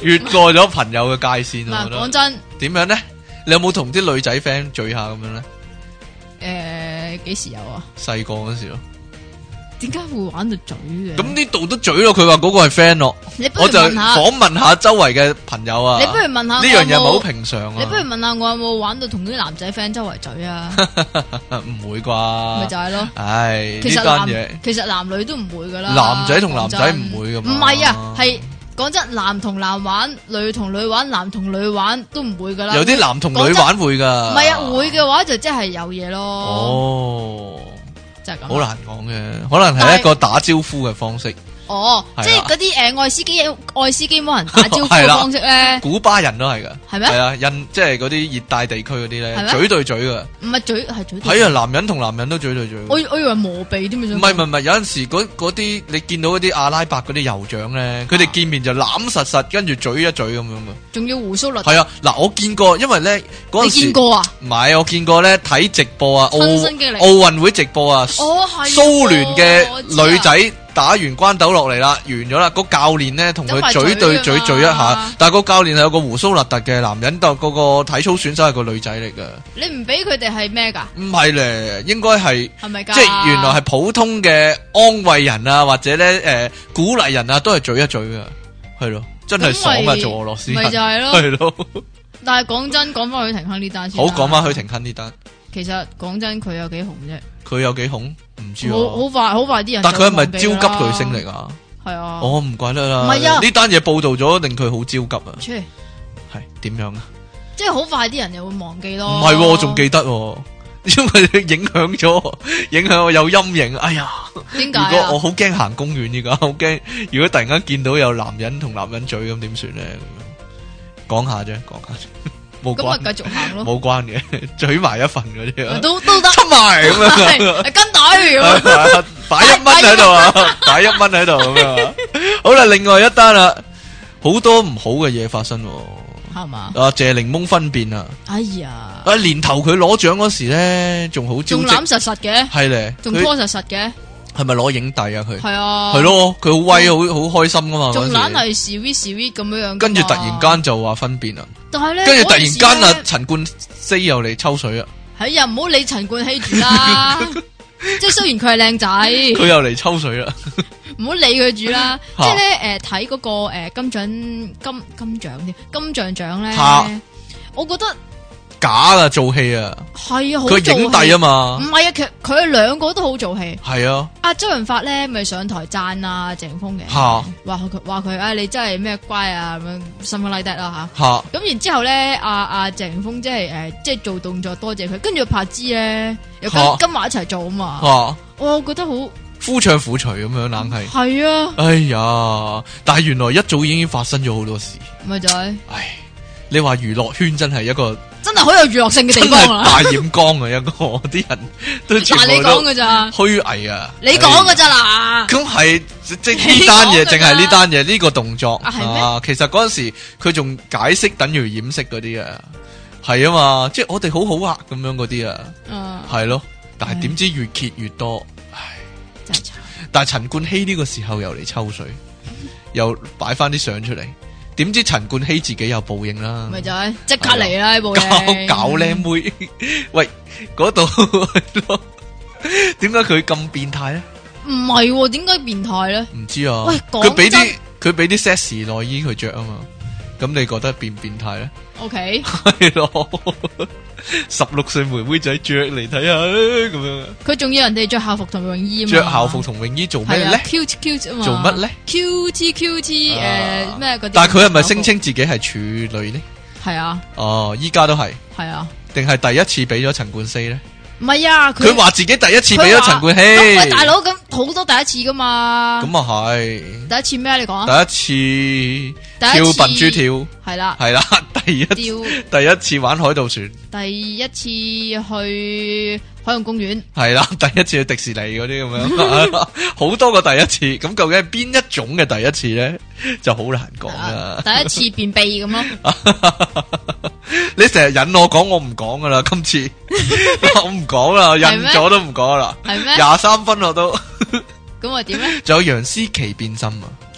越過咗朋友嘅界線。 嗱，講真， 點樣咧？你有冇同啲女仔 friend 聚下咁樣咧？ 誒、呃，幾時有啊？ 細個嗰時咯。 點解會玩到嘴嘅？ 咁呢度都嘴咯，佢話嗰個係 friend 咯。我就訪問下周圍嘅朋友啊。 你不如問下呢樣嘢係咪好平常啊？ 你不如問下我有冇玩到同啲男仔 friend 周圍嘴啊？ 唔會啩？咪就係咯。 唉， 其實呢單嘢其實男女都唔會噶啦。 男仔同男仔唔會噶嘛？ 唔係啊，係講真，男同男玩，女同女玩，男同女玩都唔會噶啦。 有啲男同女玩會噶。 唔係啊，會嘅話就即係有嘢咯。 哦。好難講嘅，可能係一個打招呼嘅方式。 哦，即係嗰啲誒愛斯基愛斯基摩人打招呼嘅方式咧， 古巴人都係噶， 係咩？ 係啊，印即係嗰啲熱帶地區嗰啲咧，嘴對嘴噶。 唔係嘴係嘴。 係啊，男人同男人都嘴對嘴。 我我以為磨鼻添啊！ 唔係唔係唔係，有陣時嗰嗰啲你見到嗰啲阿拉伯嗰啲酋長咧，佢哋見面就攬實實，跟住嘴一嘴咁樣噶。仲要鬍鬚律。 係啊，嗱，我見過，因為咧嗰陣時。 你見過啊？ 唔係，我見過咧睇直播啊，奧奧運會直播啊。 哦，係。 蘇聯嘅女仔。打完關斗落嚟啦，完咗啦。個教練咧同佢嘴對嘴嘴一下，但係個教練係有個胡鬚立突嘅男人，但係嗰個體操選手係個女仔嚟噶。你唔俾佢哋係咩噶？唔係咧，應該係係咪？即係原來係普通嘅安慰人啊，或者咧誒、呃、鼓勵人啊，都係嘴一嘴噶，係咯，真係爽啊！做俄羅斯人咪就係咯，係咯。但係講真，講翻許廷鏗呢單先。好，講翻許廷鏗呢單。其實講真，佢有幾紅啫？佢有幾紅？唔知啊。好快，好快啲人。但佢係咪超級巨星嚟啊？係啊。我唔怪得啦。唔係啊。呢單嘢報道咗，令佢好焦急啊。切。係點樣啊？即係好快啲人又會忘記咯。唔係，我仲記得，因為影響咗，影響我有陰影。哎呀，點解？如果我好驚行公園而家，好驚。如果突然間見到有男人同男人嘴咁，點算咧？講下啫，講下啫。咁咪繼續行咯，冇關嘅，嘴埋一份嗰啲啊，都都得，出埋咁樣，跟隊，擺一蚊喺度啊，擺一蚊喺度咁樣。好啦，另外一單啦，好多唔好嘅嘢發生，係嘛？啊，謝檸檬分辨啊，哎呀，啊年頭佢攞獎嗰時咧，仲好招，仲攬實實嘅，係咧，仲拖實實嘅。係咪攞影帝啊？佢係啊，係咯，佢好威，好好開心噶嘛。仲懶係 sweet sweet 咁樣樣。跟住突然間就話分辨啦。但係咧，跟住突然間啊，陳冠希又嚟抽水啊。係啊，唔好理陳冠希住啦。即係雖然佢係靚仔，佢又嚟抽水啦。唔好理佢住啦。即係咧，誒睇嗰個誒金獎金金獎啲金像獎咧，我覺得。假噶做戲啊，係啊，佢係影帝啊嘛，唔係啊，其實佢哋兩個都好做戲，係啊。阿周潤發咧咪上台讚啊謝霆鋒嘅，話佢話佢啊你真係咩乖啊咁樣，something like that啦吓。咁然之後咧，阿阿謝霆鋒即係誒即係做動作多謝佢，跟住柏芝咧又跟跟埋一齊做啊嘛，我覺得好夫唱婦隨咁樣冷係，係啊。哎呀，但係原來一早已經發生咗好多事，咪就係。唉，你話娛樂圈真係一個。真係好有娛樂性嘅地方啊！大染缸啊，一個啲人都全部都。但係你講噶咋？虛偽啊！你講噶咋嗱？咁係即係呢單嘢，淨係呢單嘢呢個動作啊？啊其實嗰陣時佢仲解釋等於掩飾嗰啲啊，係啊嘛，即係我哋好好啊咁樣嗰啲啊，係咯。但係點知越揭越多，唉，真係慘。但係陳冠希呢個時候又嚟抽水，又擺翻啲相出嚟。點知陳冠希自己有報應啦，咪就係即刻嚟啦！報應搞搞靚妹，喂嗰度點解佢咁變態咧？唔係，點解變態咧？唔知啊。喂，佢俾啲佢俾啲 sexy 內衣佢着啊嘛，咁你覺得變唔變態咧 ？OK，係咯，十六歲妹妹仔着嚟睇下咁樣。佢仲要人哋着校服同泳衣啊嘛？着校服同泳衣做咩咧 ？Cute cute 啊嘛？做乜咧 ？Cute cute 誒咩嗰啲？但係佢係咪聲稱自己係處女咧？係啊。哦，依家都係。係啊。定係第一次俾咗陳冠希咧？唔係啊，佢話自己第一次俾咗陳冠希。喂，大佬，咁好多第一次噶嘛？咁啊係。第一次咩？你講。第一次跳笨豬跳。係啦。係啦，第一第一次玩海盜船。第一次去海洋公園。係啦，第一次去迪士尼嗰啲咁樣，好多個第一次。咁究竟係邊一種嘅第一次咧？就好難講啦。第一次便秘咁咯。你成日引我講，我唔講噶啦，今次我唔講啦，引咗都唔講啦。係咩？廿三分我都。咁我點咧？仲有楊思琦變心啊！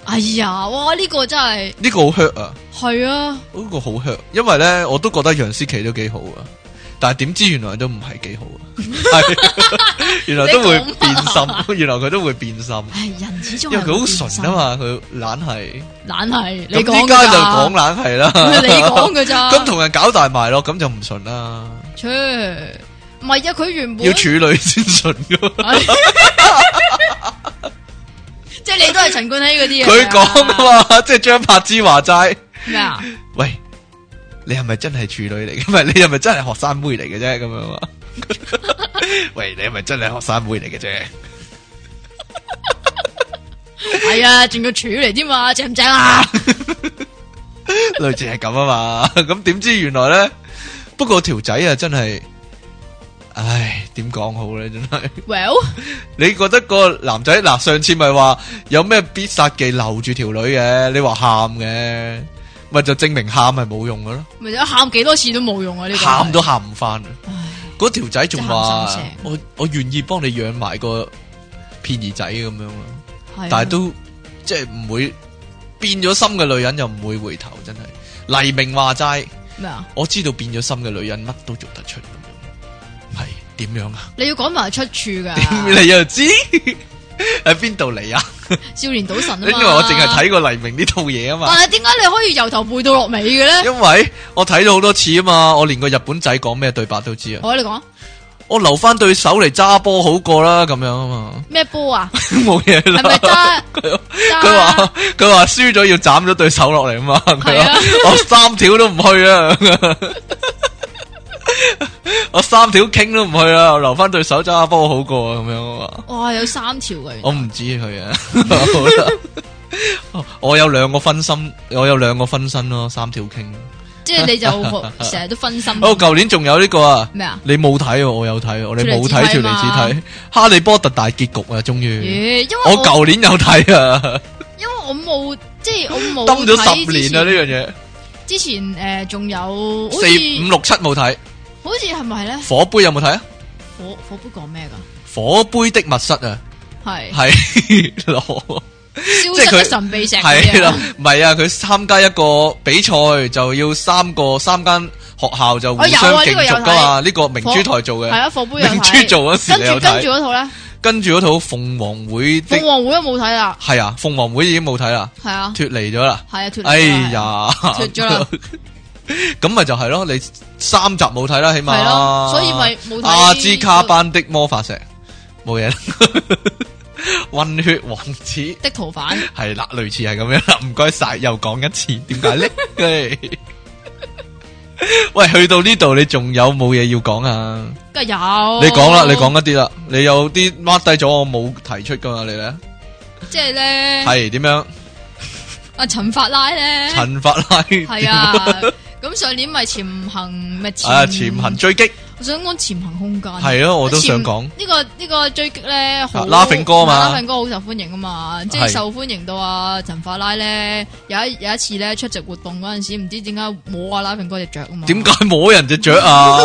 哎呀，哇！呢、這個真係呢個好 hurt 啊！ 係啊， 呢個好 hurt，因為咧我都覺得楊思琦都幾好啊，但係點知原來都唔係幾好啊，係原來都會變心，原來佢都會變心。 係人始終因為佢好純啊嘛，佢懶係懶係。你咁依家就講懶係啦， 你講㗎咋？ 咁同人搞大埋咯，咁就唔純啦。 切，唔係啊，佢原本要處女先純噶。 即係你都係陳冠希嗰啲啊？ 佢講啊嘛，即係張柏芝話齋咩啊？ 喂，你係咪真係處女嚟嘅？唔係，你係咪真係學生妹嚟嘅啫？咁樣啊？喂，你係咪真係學生妹嚟嘅啫？ 係啊，仲要處嚟添嘛？正唔正啊？ 類似係咁啊嘛。咁點知原來咧？不過條仔啊，真係。唉，點講好咧？真係。 Well， 你覺得個男仔嗱，上次咪話有咩必殺技留住條女嘅？你話喊嘅，咪就證明喊係冇用嘅咯。咪就喊幾多次都冇用啊！呢個喊都喊唔翻。嗰條仔仲話：我我願意幫你養埋個片兒仔咁樣咯。但係都即係唔會變咗心嘅女人又唔會回頭，真係。黎明話齋咩啊？我知道變咗心嘅女人乜都做得出。係點樣啊？你要講埋出處噶？點你又知喺邊度嚟啊？ 少年賭神啊嘛！ 因為我淨係睇過黎明呢套嘢啊嘛。 但係點解你可以由頭背到落尾嘅咧？ 因為我睇咗好多次啊嘛，我連個日本仔講咩對白都知啊。 好，你講。 我留翻對手嚟揸波好過啦，咁樣啊嘛。咩波啊？冇嘢啦。係咪揸？佢佢話佢話輸咗要斬咗對手落嚟啊嘛。佢話我三條都唔去啊。我三條傾都唔去啦，我留翻對手揸波好過咁樣啊！ 哇，有三條嘅， 我唔知佢啊。我有兩個分心，我有兩個分身咯，三條傾。 即係你就成日都分心。 哦，舊年仲有呢個啊？ 咩啊？ 你冇睇，我有睇，我哋冇睇條嚟自睇《哈利波特》大結局啊！終於， 因為我舊年有睇啊。 因為我冇，即係我冇登咗十年啊！呢樣嘢。 之前誒，仲有四五六七冇睇。 好似係咪咧？ 火杯有冇睇啊？ 火火杯講咩噶？ 火杯的密室啊，係係咯， 消失的神秘石係啦，唔係啊，佢參加一個比賽就要三個三間學校就互相競逐噶嘛，呢個明珠台做嘅係啊，火杯明珠做嗰時你有睇？跟住嗰套咧，跟住嗰套鳳凰會， 鳳凰會都冇睇啦， 係啊，鳳凰會已經冇睇啦，係啊，脫離咗啦，係啊，脫離，哎呀，脫咗啦。咁咪就係咯，你三集冇睇啦，起碼，係咯，所以咪冇睇。阿茲卡班的魔法石冇嘢啦，混血王子的逃犯係啦，類似係咁樣啦。唔該晒，又講一次，點解咧？喂，去到呢度你仲有冇嘢要講啊？ 梗係有， 你講啦，你講一啲啦，你有啲 mark 低咗，我冇提出噶嘛，你咧？ 即係咧， 係點樣？ 阿陳法拉咧， 陳法拉係啊。咁上年咪潛行咪潛啊潛行追擊， 我想講潛行空間係咯，我都想講呢個呢個追擊咧，好 Laughing哥嘛 ，Laughing哥好受歡迎啊嘛，即係受歡迎到啊陳法拉咧有一有一次咧出席活動嗰陣時，唔知點解摸啊 Laughing哥隻腳啊嘛， 點解摸人隻腳啊？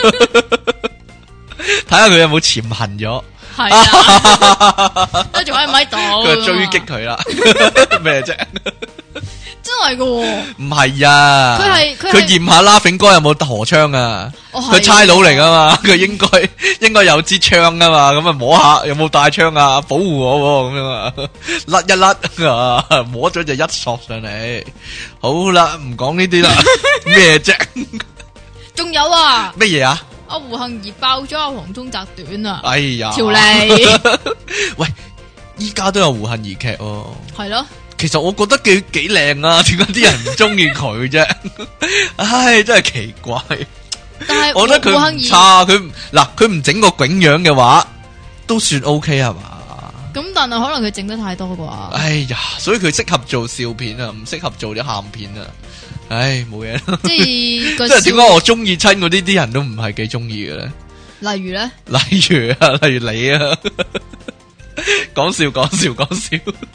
睇下佢有冇潛行咗， 係啊，都仲喺唔喺度？ 佢追擊佢啦，咩啫？ 真係噶， 唔係啊！ 佢係佢驗下Laughing哥有冇荷槍啊？佢差佬嚟噶嘛？佢應該應該有支槍噶嘛？咁啊摸下有冇帶槍啊？保護我咁樣啊？甩一甩啊！摸咗就一索上嚟。好啦，唔講呢啲啦。咩啫？ 仲有啊？ 乜嘢啊？ 阿胡杏兒爆咗阿黃宗澤短啊！ 哎呀， 條脷。 喂，依家都有胡杏兒劇哦。 係咯。 其實我覺得幾幾靚啊，點解啲人唔中意佢啫？唉，真係奇怪。 但係我覺得佢唔差，佢嗱佢唔整個囧樣嘅話，都算 OK 係嘛？ 咁但係可能佢整得太多啩？ 哎呀，所以佢適合做笑片啊，唔適合做啲鹹片啊。唉，冇嘢啦。即係即係點解我中意親嗰啲啲人都唔係幾中意嘅咧？ 例如咧？ 例如啊，例如你啊，講笑講笑講笑。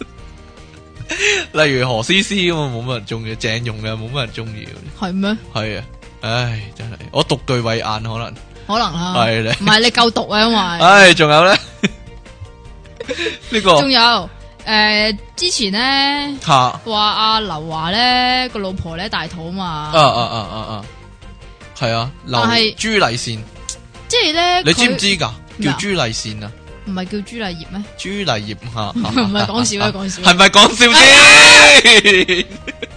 例如何詩詩咁啊，冇乜人中意；鄭融嘅冇乜人中意。 係咩？ 係啊，唉，真係我獨具慧眼，可能可能啊， 係咧， 唔係你夠毒啊，因為唉，仲有咧呢個， 仲有誒，之前咧吓話阿劉華咧個老婆咧大肚嘛。 啊啊啊啊啊，係啊，劉朱麗倩， 即係咧， 你知唔知噶？叫朱麗倩啊？ 唔係叫朱麗葉咩？ 朱麗葉吓， 唔係講笑啊，講笑。 係咪講笑先？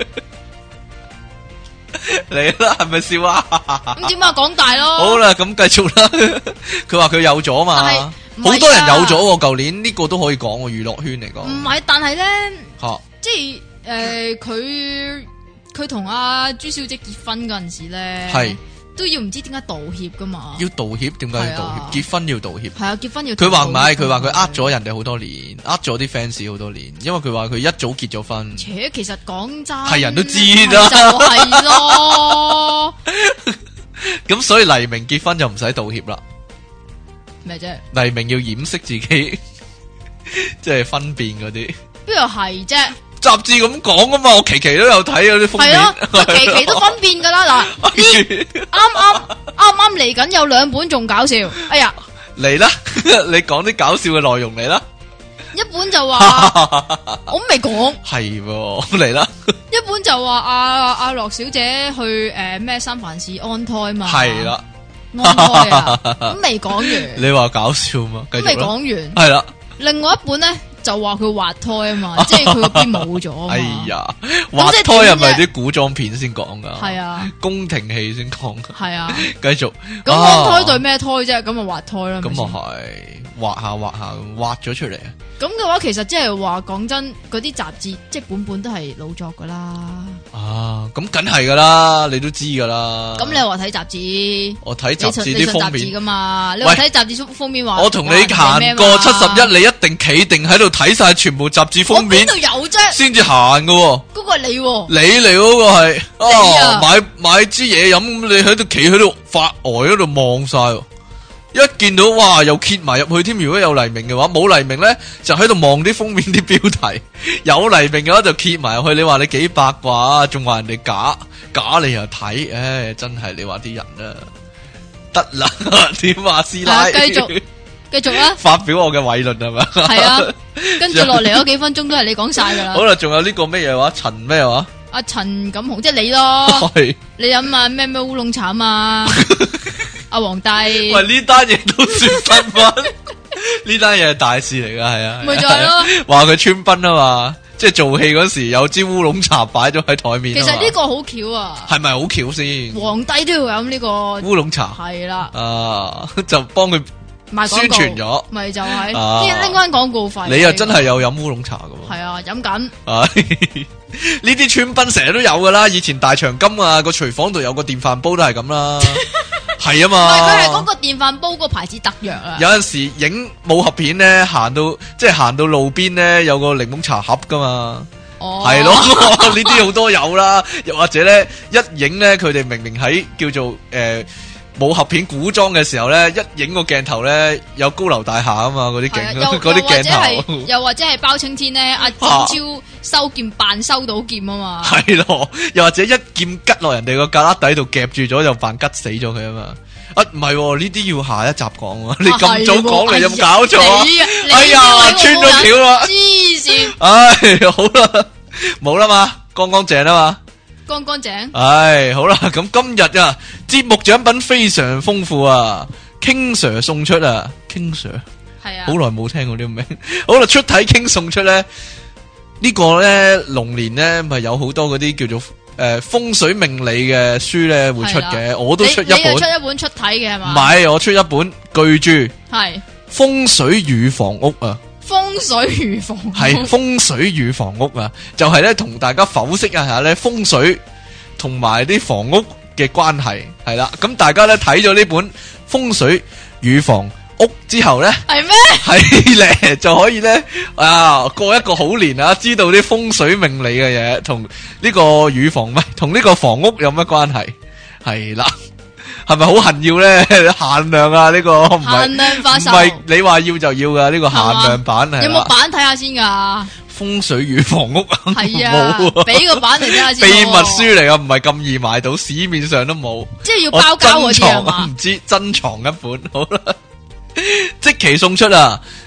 嚟啦，係咪笑啊？ 咁點解講大咯？ 好啦，咁繼續啦。佢話佢有咗嘛，好多人有咗。舊年呢個都可以講，娛樂圈嚟講。 唔係，但係咧， 吓， 即係誒，佢佢同阿朱小姐結婚嗰陣時咧， 係都要唔知點解道歉噶嘛？ 要道歉，點解要道歉？結婚要道歉。 係啊，結婚要。 佢話唔係，佢話佢呃咗人哋好多年，呃咗啲 fans 好多年，因為佢話佢一早結咗婚。 且其實講真， 係人都知啦， 就係咯。 咁所以黎明結婚就唔使道歉啦。 咩啫？ 黎明要掩飾自己，即係分辨嗰啲。 邊度係啫？雜誌咁講啊嘛，我期期都有睇嗰啲封面。 係咯，期期都分辨噶啦。嗱，呢啱啱啱啱嚟緊有兩本仲搞笑。哎呀， 嚟啦，你講啲搞笑嘅內容嚟啦。 一本就話我未講， 係嚟啦。 一本就話阿阿樂小姐去誒咩三藩市安胎嘛。 係啦。 安胎啊，咁未講完。 你話搞笑嘛？ 咁未講完。 係啦。另外一本咧就話佢滑胎啊嘛，即係佢嗰邊冇咗。 哎呀，滑胎係咪啲古裝片先講噶？ 係啊，宮廷戲先講噶。 係啊， 繼續。 咁安胎對咩胎啫？咁啊滑胎啦。 咁啊係，滑下滑下滑咗出嚟啊！ 咁嘅話，其實即係話講真，嗰啲雜誌即係本本都係老作噶啦。 啊，咁梗係噶啦，你都知噶啦。 咁你話睇雜誌？ 我睇雜誌啲封面噶嘛？你話睇雜誌封面話？ 我同你行過七十一，你一定企定喺度睇晒全部雜誌封面。 我邊度有啫？先至行噶。嗰個係你， 你嚟嗰個係哦，買買支嘢飲，你喺度企喺度發呆喺度望晒。一見到哇，又揭埋入去添。如果有黎明嘅話，冇黎明咧就喺度望啲封面啲標題。有黎明嘅話就揭埋入去。你話你幾八卦，仲話人哋假假你又睇，唉，真係你話啲人啊，得啦，點話師奶？ 繼續繼續啦， 發表我嘅偉論係咪？ 係啊，跟住落嚟嗰幾分鐘都係你講晒噶啦。 好啦，仲有呢個咩嘢話？陳咩話？ 阿陳錦鴻，即係你咯。你飲啊咩咩烏龍茶啊？阿皇帝， 喂，呢單嘢都算新聞，呢單嘢係大事嚟噶，係啊， 咪就係咯， 話佢穿崩啊嘛，即係做戲嗰時有支烏龍茶擺咗喺台面。 其實呢個好巧啊， 係咪好巧先？ 皇帝都要飲呢個烏龍茶， 係啦， 啊，就幫佢宣傳咗， 咪就係拎拎翻廣告費。 你又真係有飲烏龍茶噶？ 係啊，飲緊。 呢啲穿崩成日都有噶啦，以前大長今啊個廚房度有個電飯煲都係咁啦。係啊嘛， 佢係嗰個電飯煲個牌子特約啊。 有陣時影武俠片咧，行到即係行到路邊咧，有個檸檬茶盒噶嘛。哦，係咯，呢啲好多有啦。又或者咧，一影咧，佢哋明明喺叫做誒、呃、武俠片古裝嘅時候咧，一影個鏡頭咧有高樓大廈啊嘛，嗰啲鏡嗰啲鏡頭。 又或者係包青天咧，阿展超收劍扮收到劍啊嘛。係咯，又或者一劍吉落人哋個胳肋底度夾住咗，就扮吉死咗佢啊嘛。啊，唔係呢啲要下一集講啊！你咁早講嚟，有冇搞錯啊？哎呀，穿咗橋啦！ 黐線！ 唉，好啦，冇啦嘛，乾乾淨啦嘛， 乾乾淨。 唉，好啦，咁今日啊，節目獎品非常豐富啊 ，King Sir 送出啊 ，King Sir 係啊， 好耐冇聽過呢個名。好啦，出體 King 送出咧，呢個咧龍年咧咪有好多嗰啲叫做。誒、呃，風水命理嘅書咧會出嘅，我都出一本。 你出一本出體嘅係嘛？ 唔係，我出一本巨著， 係風水與房屋啊。 風水與房屋係風水與房屋啊，就係咧同大家剖析一下咧風水同埋啲房屋嘅關係係啦。咁大家咧睇咗呢本風水與房屋之後咧， 係咩？ 係咧就可以咧啊過一個好年啊！知道啲風水命理嘅嘢，同呢個乳房唔係同呢個房屋有乜關係？係啦，係咪好恨要咧？限量啊！呢、這個唔係限量發售， 唔係你話要就要噶呢、這個限量版係。 有冇版睇下先噶？ 風水與房屋係啊，俾個版嚟睇下先。 秘密書嚟啊，唔係咁易買到，市面上都冇。 即係要包膠嗰啲啊嘛？ 唔知珍藏一本好啦。即期送出啊！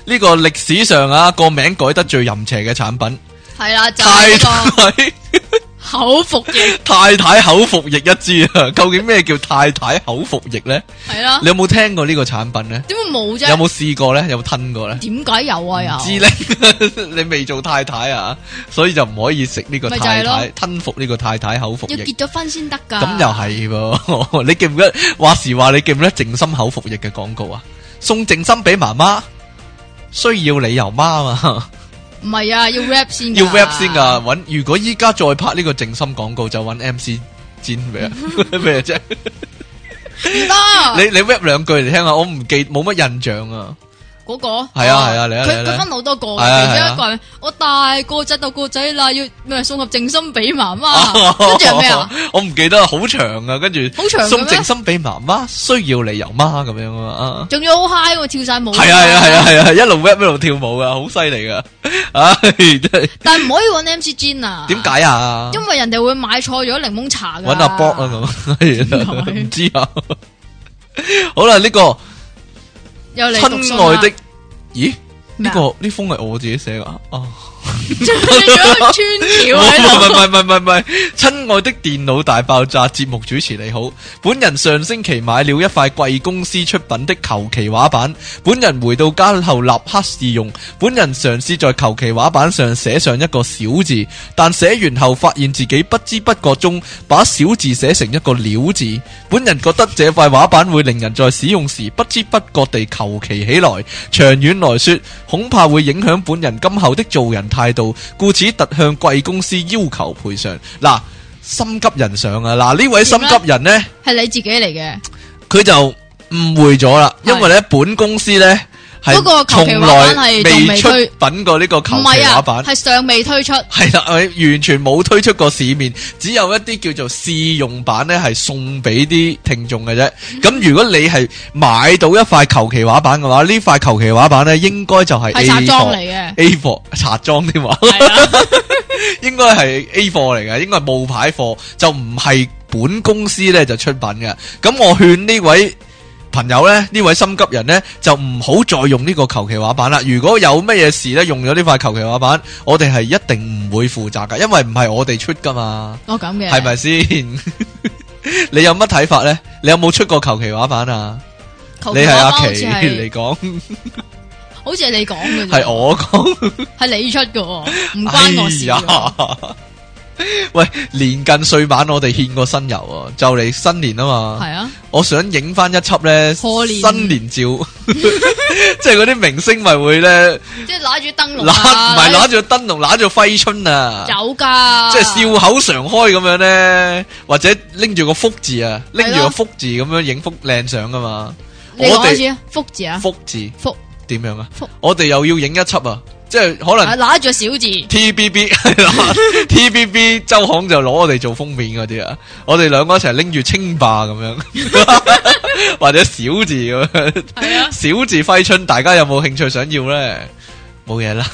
呢個歷史上啊個名改得最淫邪嘅產品， 係啦，就太係太口服液， 太太口服液一支啊！究竟咩叫太太口服液咧？ 係啦， 你有冇聽過呢個產品咧？ 點會冇啫？ 有冇試過咧？有冇吞過咧？ 點解有啊？有知咧？你未做太太啊，所以就唔可以食呢個太太吞服呢個太太口服液。 要結咗婚先得噶。 咁又係喎，你記唔記得話時話？你記唔記得靜心口服液嘅廣告啊？送靜心俾媽媽，需要理由媽嘛？ 唔係啊，要 rap 先， 要 rap 先噶。搵如果依家再拍呢個靜心廣告，就搵 M C 煎咩咩啫？ 唔得， 你你 rap 兩句嚟聽下，我唔記冇乜印象啊。 嗰個係啊係啊，嚟啊佢佢分好多個嘅，其中一個係我大個仔到個仔啦，要咩送盒靜心俾媽媽，跟住係咩啊？ 我唔記得，好長啊，跟住好長送靜心俾媽媽，需要理由媽咁樣啊， 仲要好 high 喎，跳晒舞。 係啊係啊係啊係啊，一路 rap 一路跳舞噶，好犀利噶，唉真係。 但係唔可以搵 M C Jin 啊？ 點解啊？ 因為人哋會買錯咗檸檬茶噶。 搵阿 Bob 啊咁，唔知啊。好啦，呢個親愛的。咦？呢、這個呢封係我自己寫噶啊！ 你做咗個穿橋喺度？ 唔係唔係唔係唔係，親愛的電腦大爆炸節目主持你好，本人上星期買了一塊貴公司出品的求其畫板，本人回到家後立刻試用，本人嘗試在求其畫板上寫上一個小字，但寫完後發現自己不知不覺中把小字寫成一個了字，本人覺得這塊畫板會令人在使用時不知不覺地求其起來，長遠來說恐怕會影響本人今後的做人態度，故此特向貴公司要求賠償。嗱，心急人上啊！嗱，呢位心急人呢，係你自己嚟嘅， 佢就誤會咗啦，因為咧本公司呢係從來未出品過呢個求其畫板， 係尚未推出， 係啦，完全冇推出過市面，只有一啲叫做試用版呢係送俾啲聽眾嘅啫。咁、嗯、如果你係買到一塊求其畫板嘅話，呢塊求其畫板呢應該就係 A 貨嚟嘅 ，A 貨茶裝添嘛，應該係 A 貨嚟嘅，應該係冒牌貨，就唔係本公司呢就出品嘅。咁我勸呢位朋友咧，呢位心急人咧，就唔好再用呢個求其畫板啦。如果有乜嘢事咧，用咗呢塊求其畫板，我哋係一定唔會負責噶，因為唔係我哋出噶嘛。 哦，咁嘅係咪先？你有乜睇法咧？你有冇出過求其畫板啊？你係阿奇嚟講， 好似係你講嘅， 係我講， 係你出嘅，唔關我事。哎喂，年近歲晚，我哋獻個新油啊！就嚟新年啊嘛， 係啊！ 我想影翻一輯咧新年照，即係嗰啲明星咪會咧， 即係攞住燈籠， 唔係攞住燈籠，攞住揮春啊！ 有噶， 即係笑口常開咁樣咧，或者拎住個福字啊，拎住個福字咁樣影幅靚相噶嘛。 你講一次啊，福字啊， 福字， 福點樣啊？我哋又要影一輯啊！即係可能拿住小字 T B B 係啦，T B B 周刊就攞我哋做封面嗰啲啊，我哋兩個一齊拎住清霸咁樣，或者小字咁樣，係啊，小字揮春，大家有冇興趣想要咧？冇嘢啦，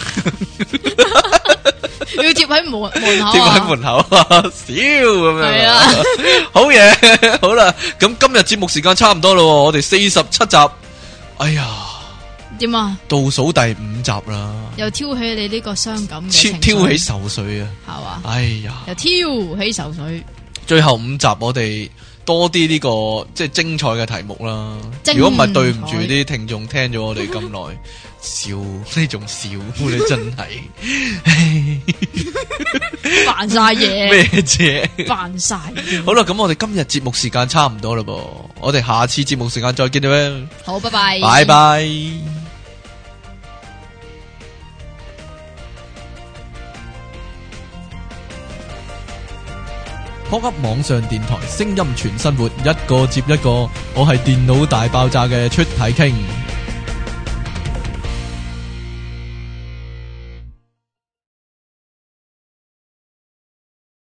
要貼喺門門口， 貼喺門口啊，笑咁樣，係啊，好嘢，好啦，咁今日節目時間差唔多咯，我哋四十七集，哎呀。 點啊？ 倒數第五集啦， 又挑起你呢個傷感嘅情緒， 挑起愁緒啊， 係嘛？ 哎呀， 又挑起愁緒。最後五集我哋多啲呢、這個即係精彩嘅題目啦。如果唔係對唔住啲聽眾聽咗我哋咁耐，笑呢種笑你真係煩晒嘢咩啫？ 煩晒。 好啦，咁我哋今日節目時間差唔多啦噃，我哋下次節目時間再見啦。 好，拜拜， 拜拜。Pop Up 網上電台，聲音全生活，一個接一個。我係電腦大爆炸嘅出體傾。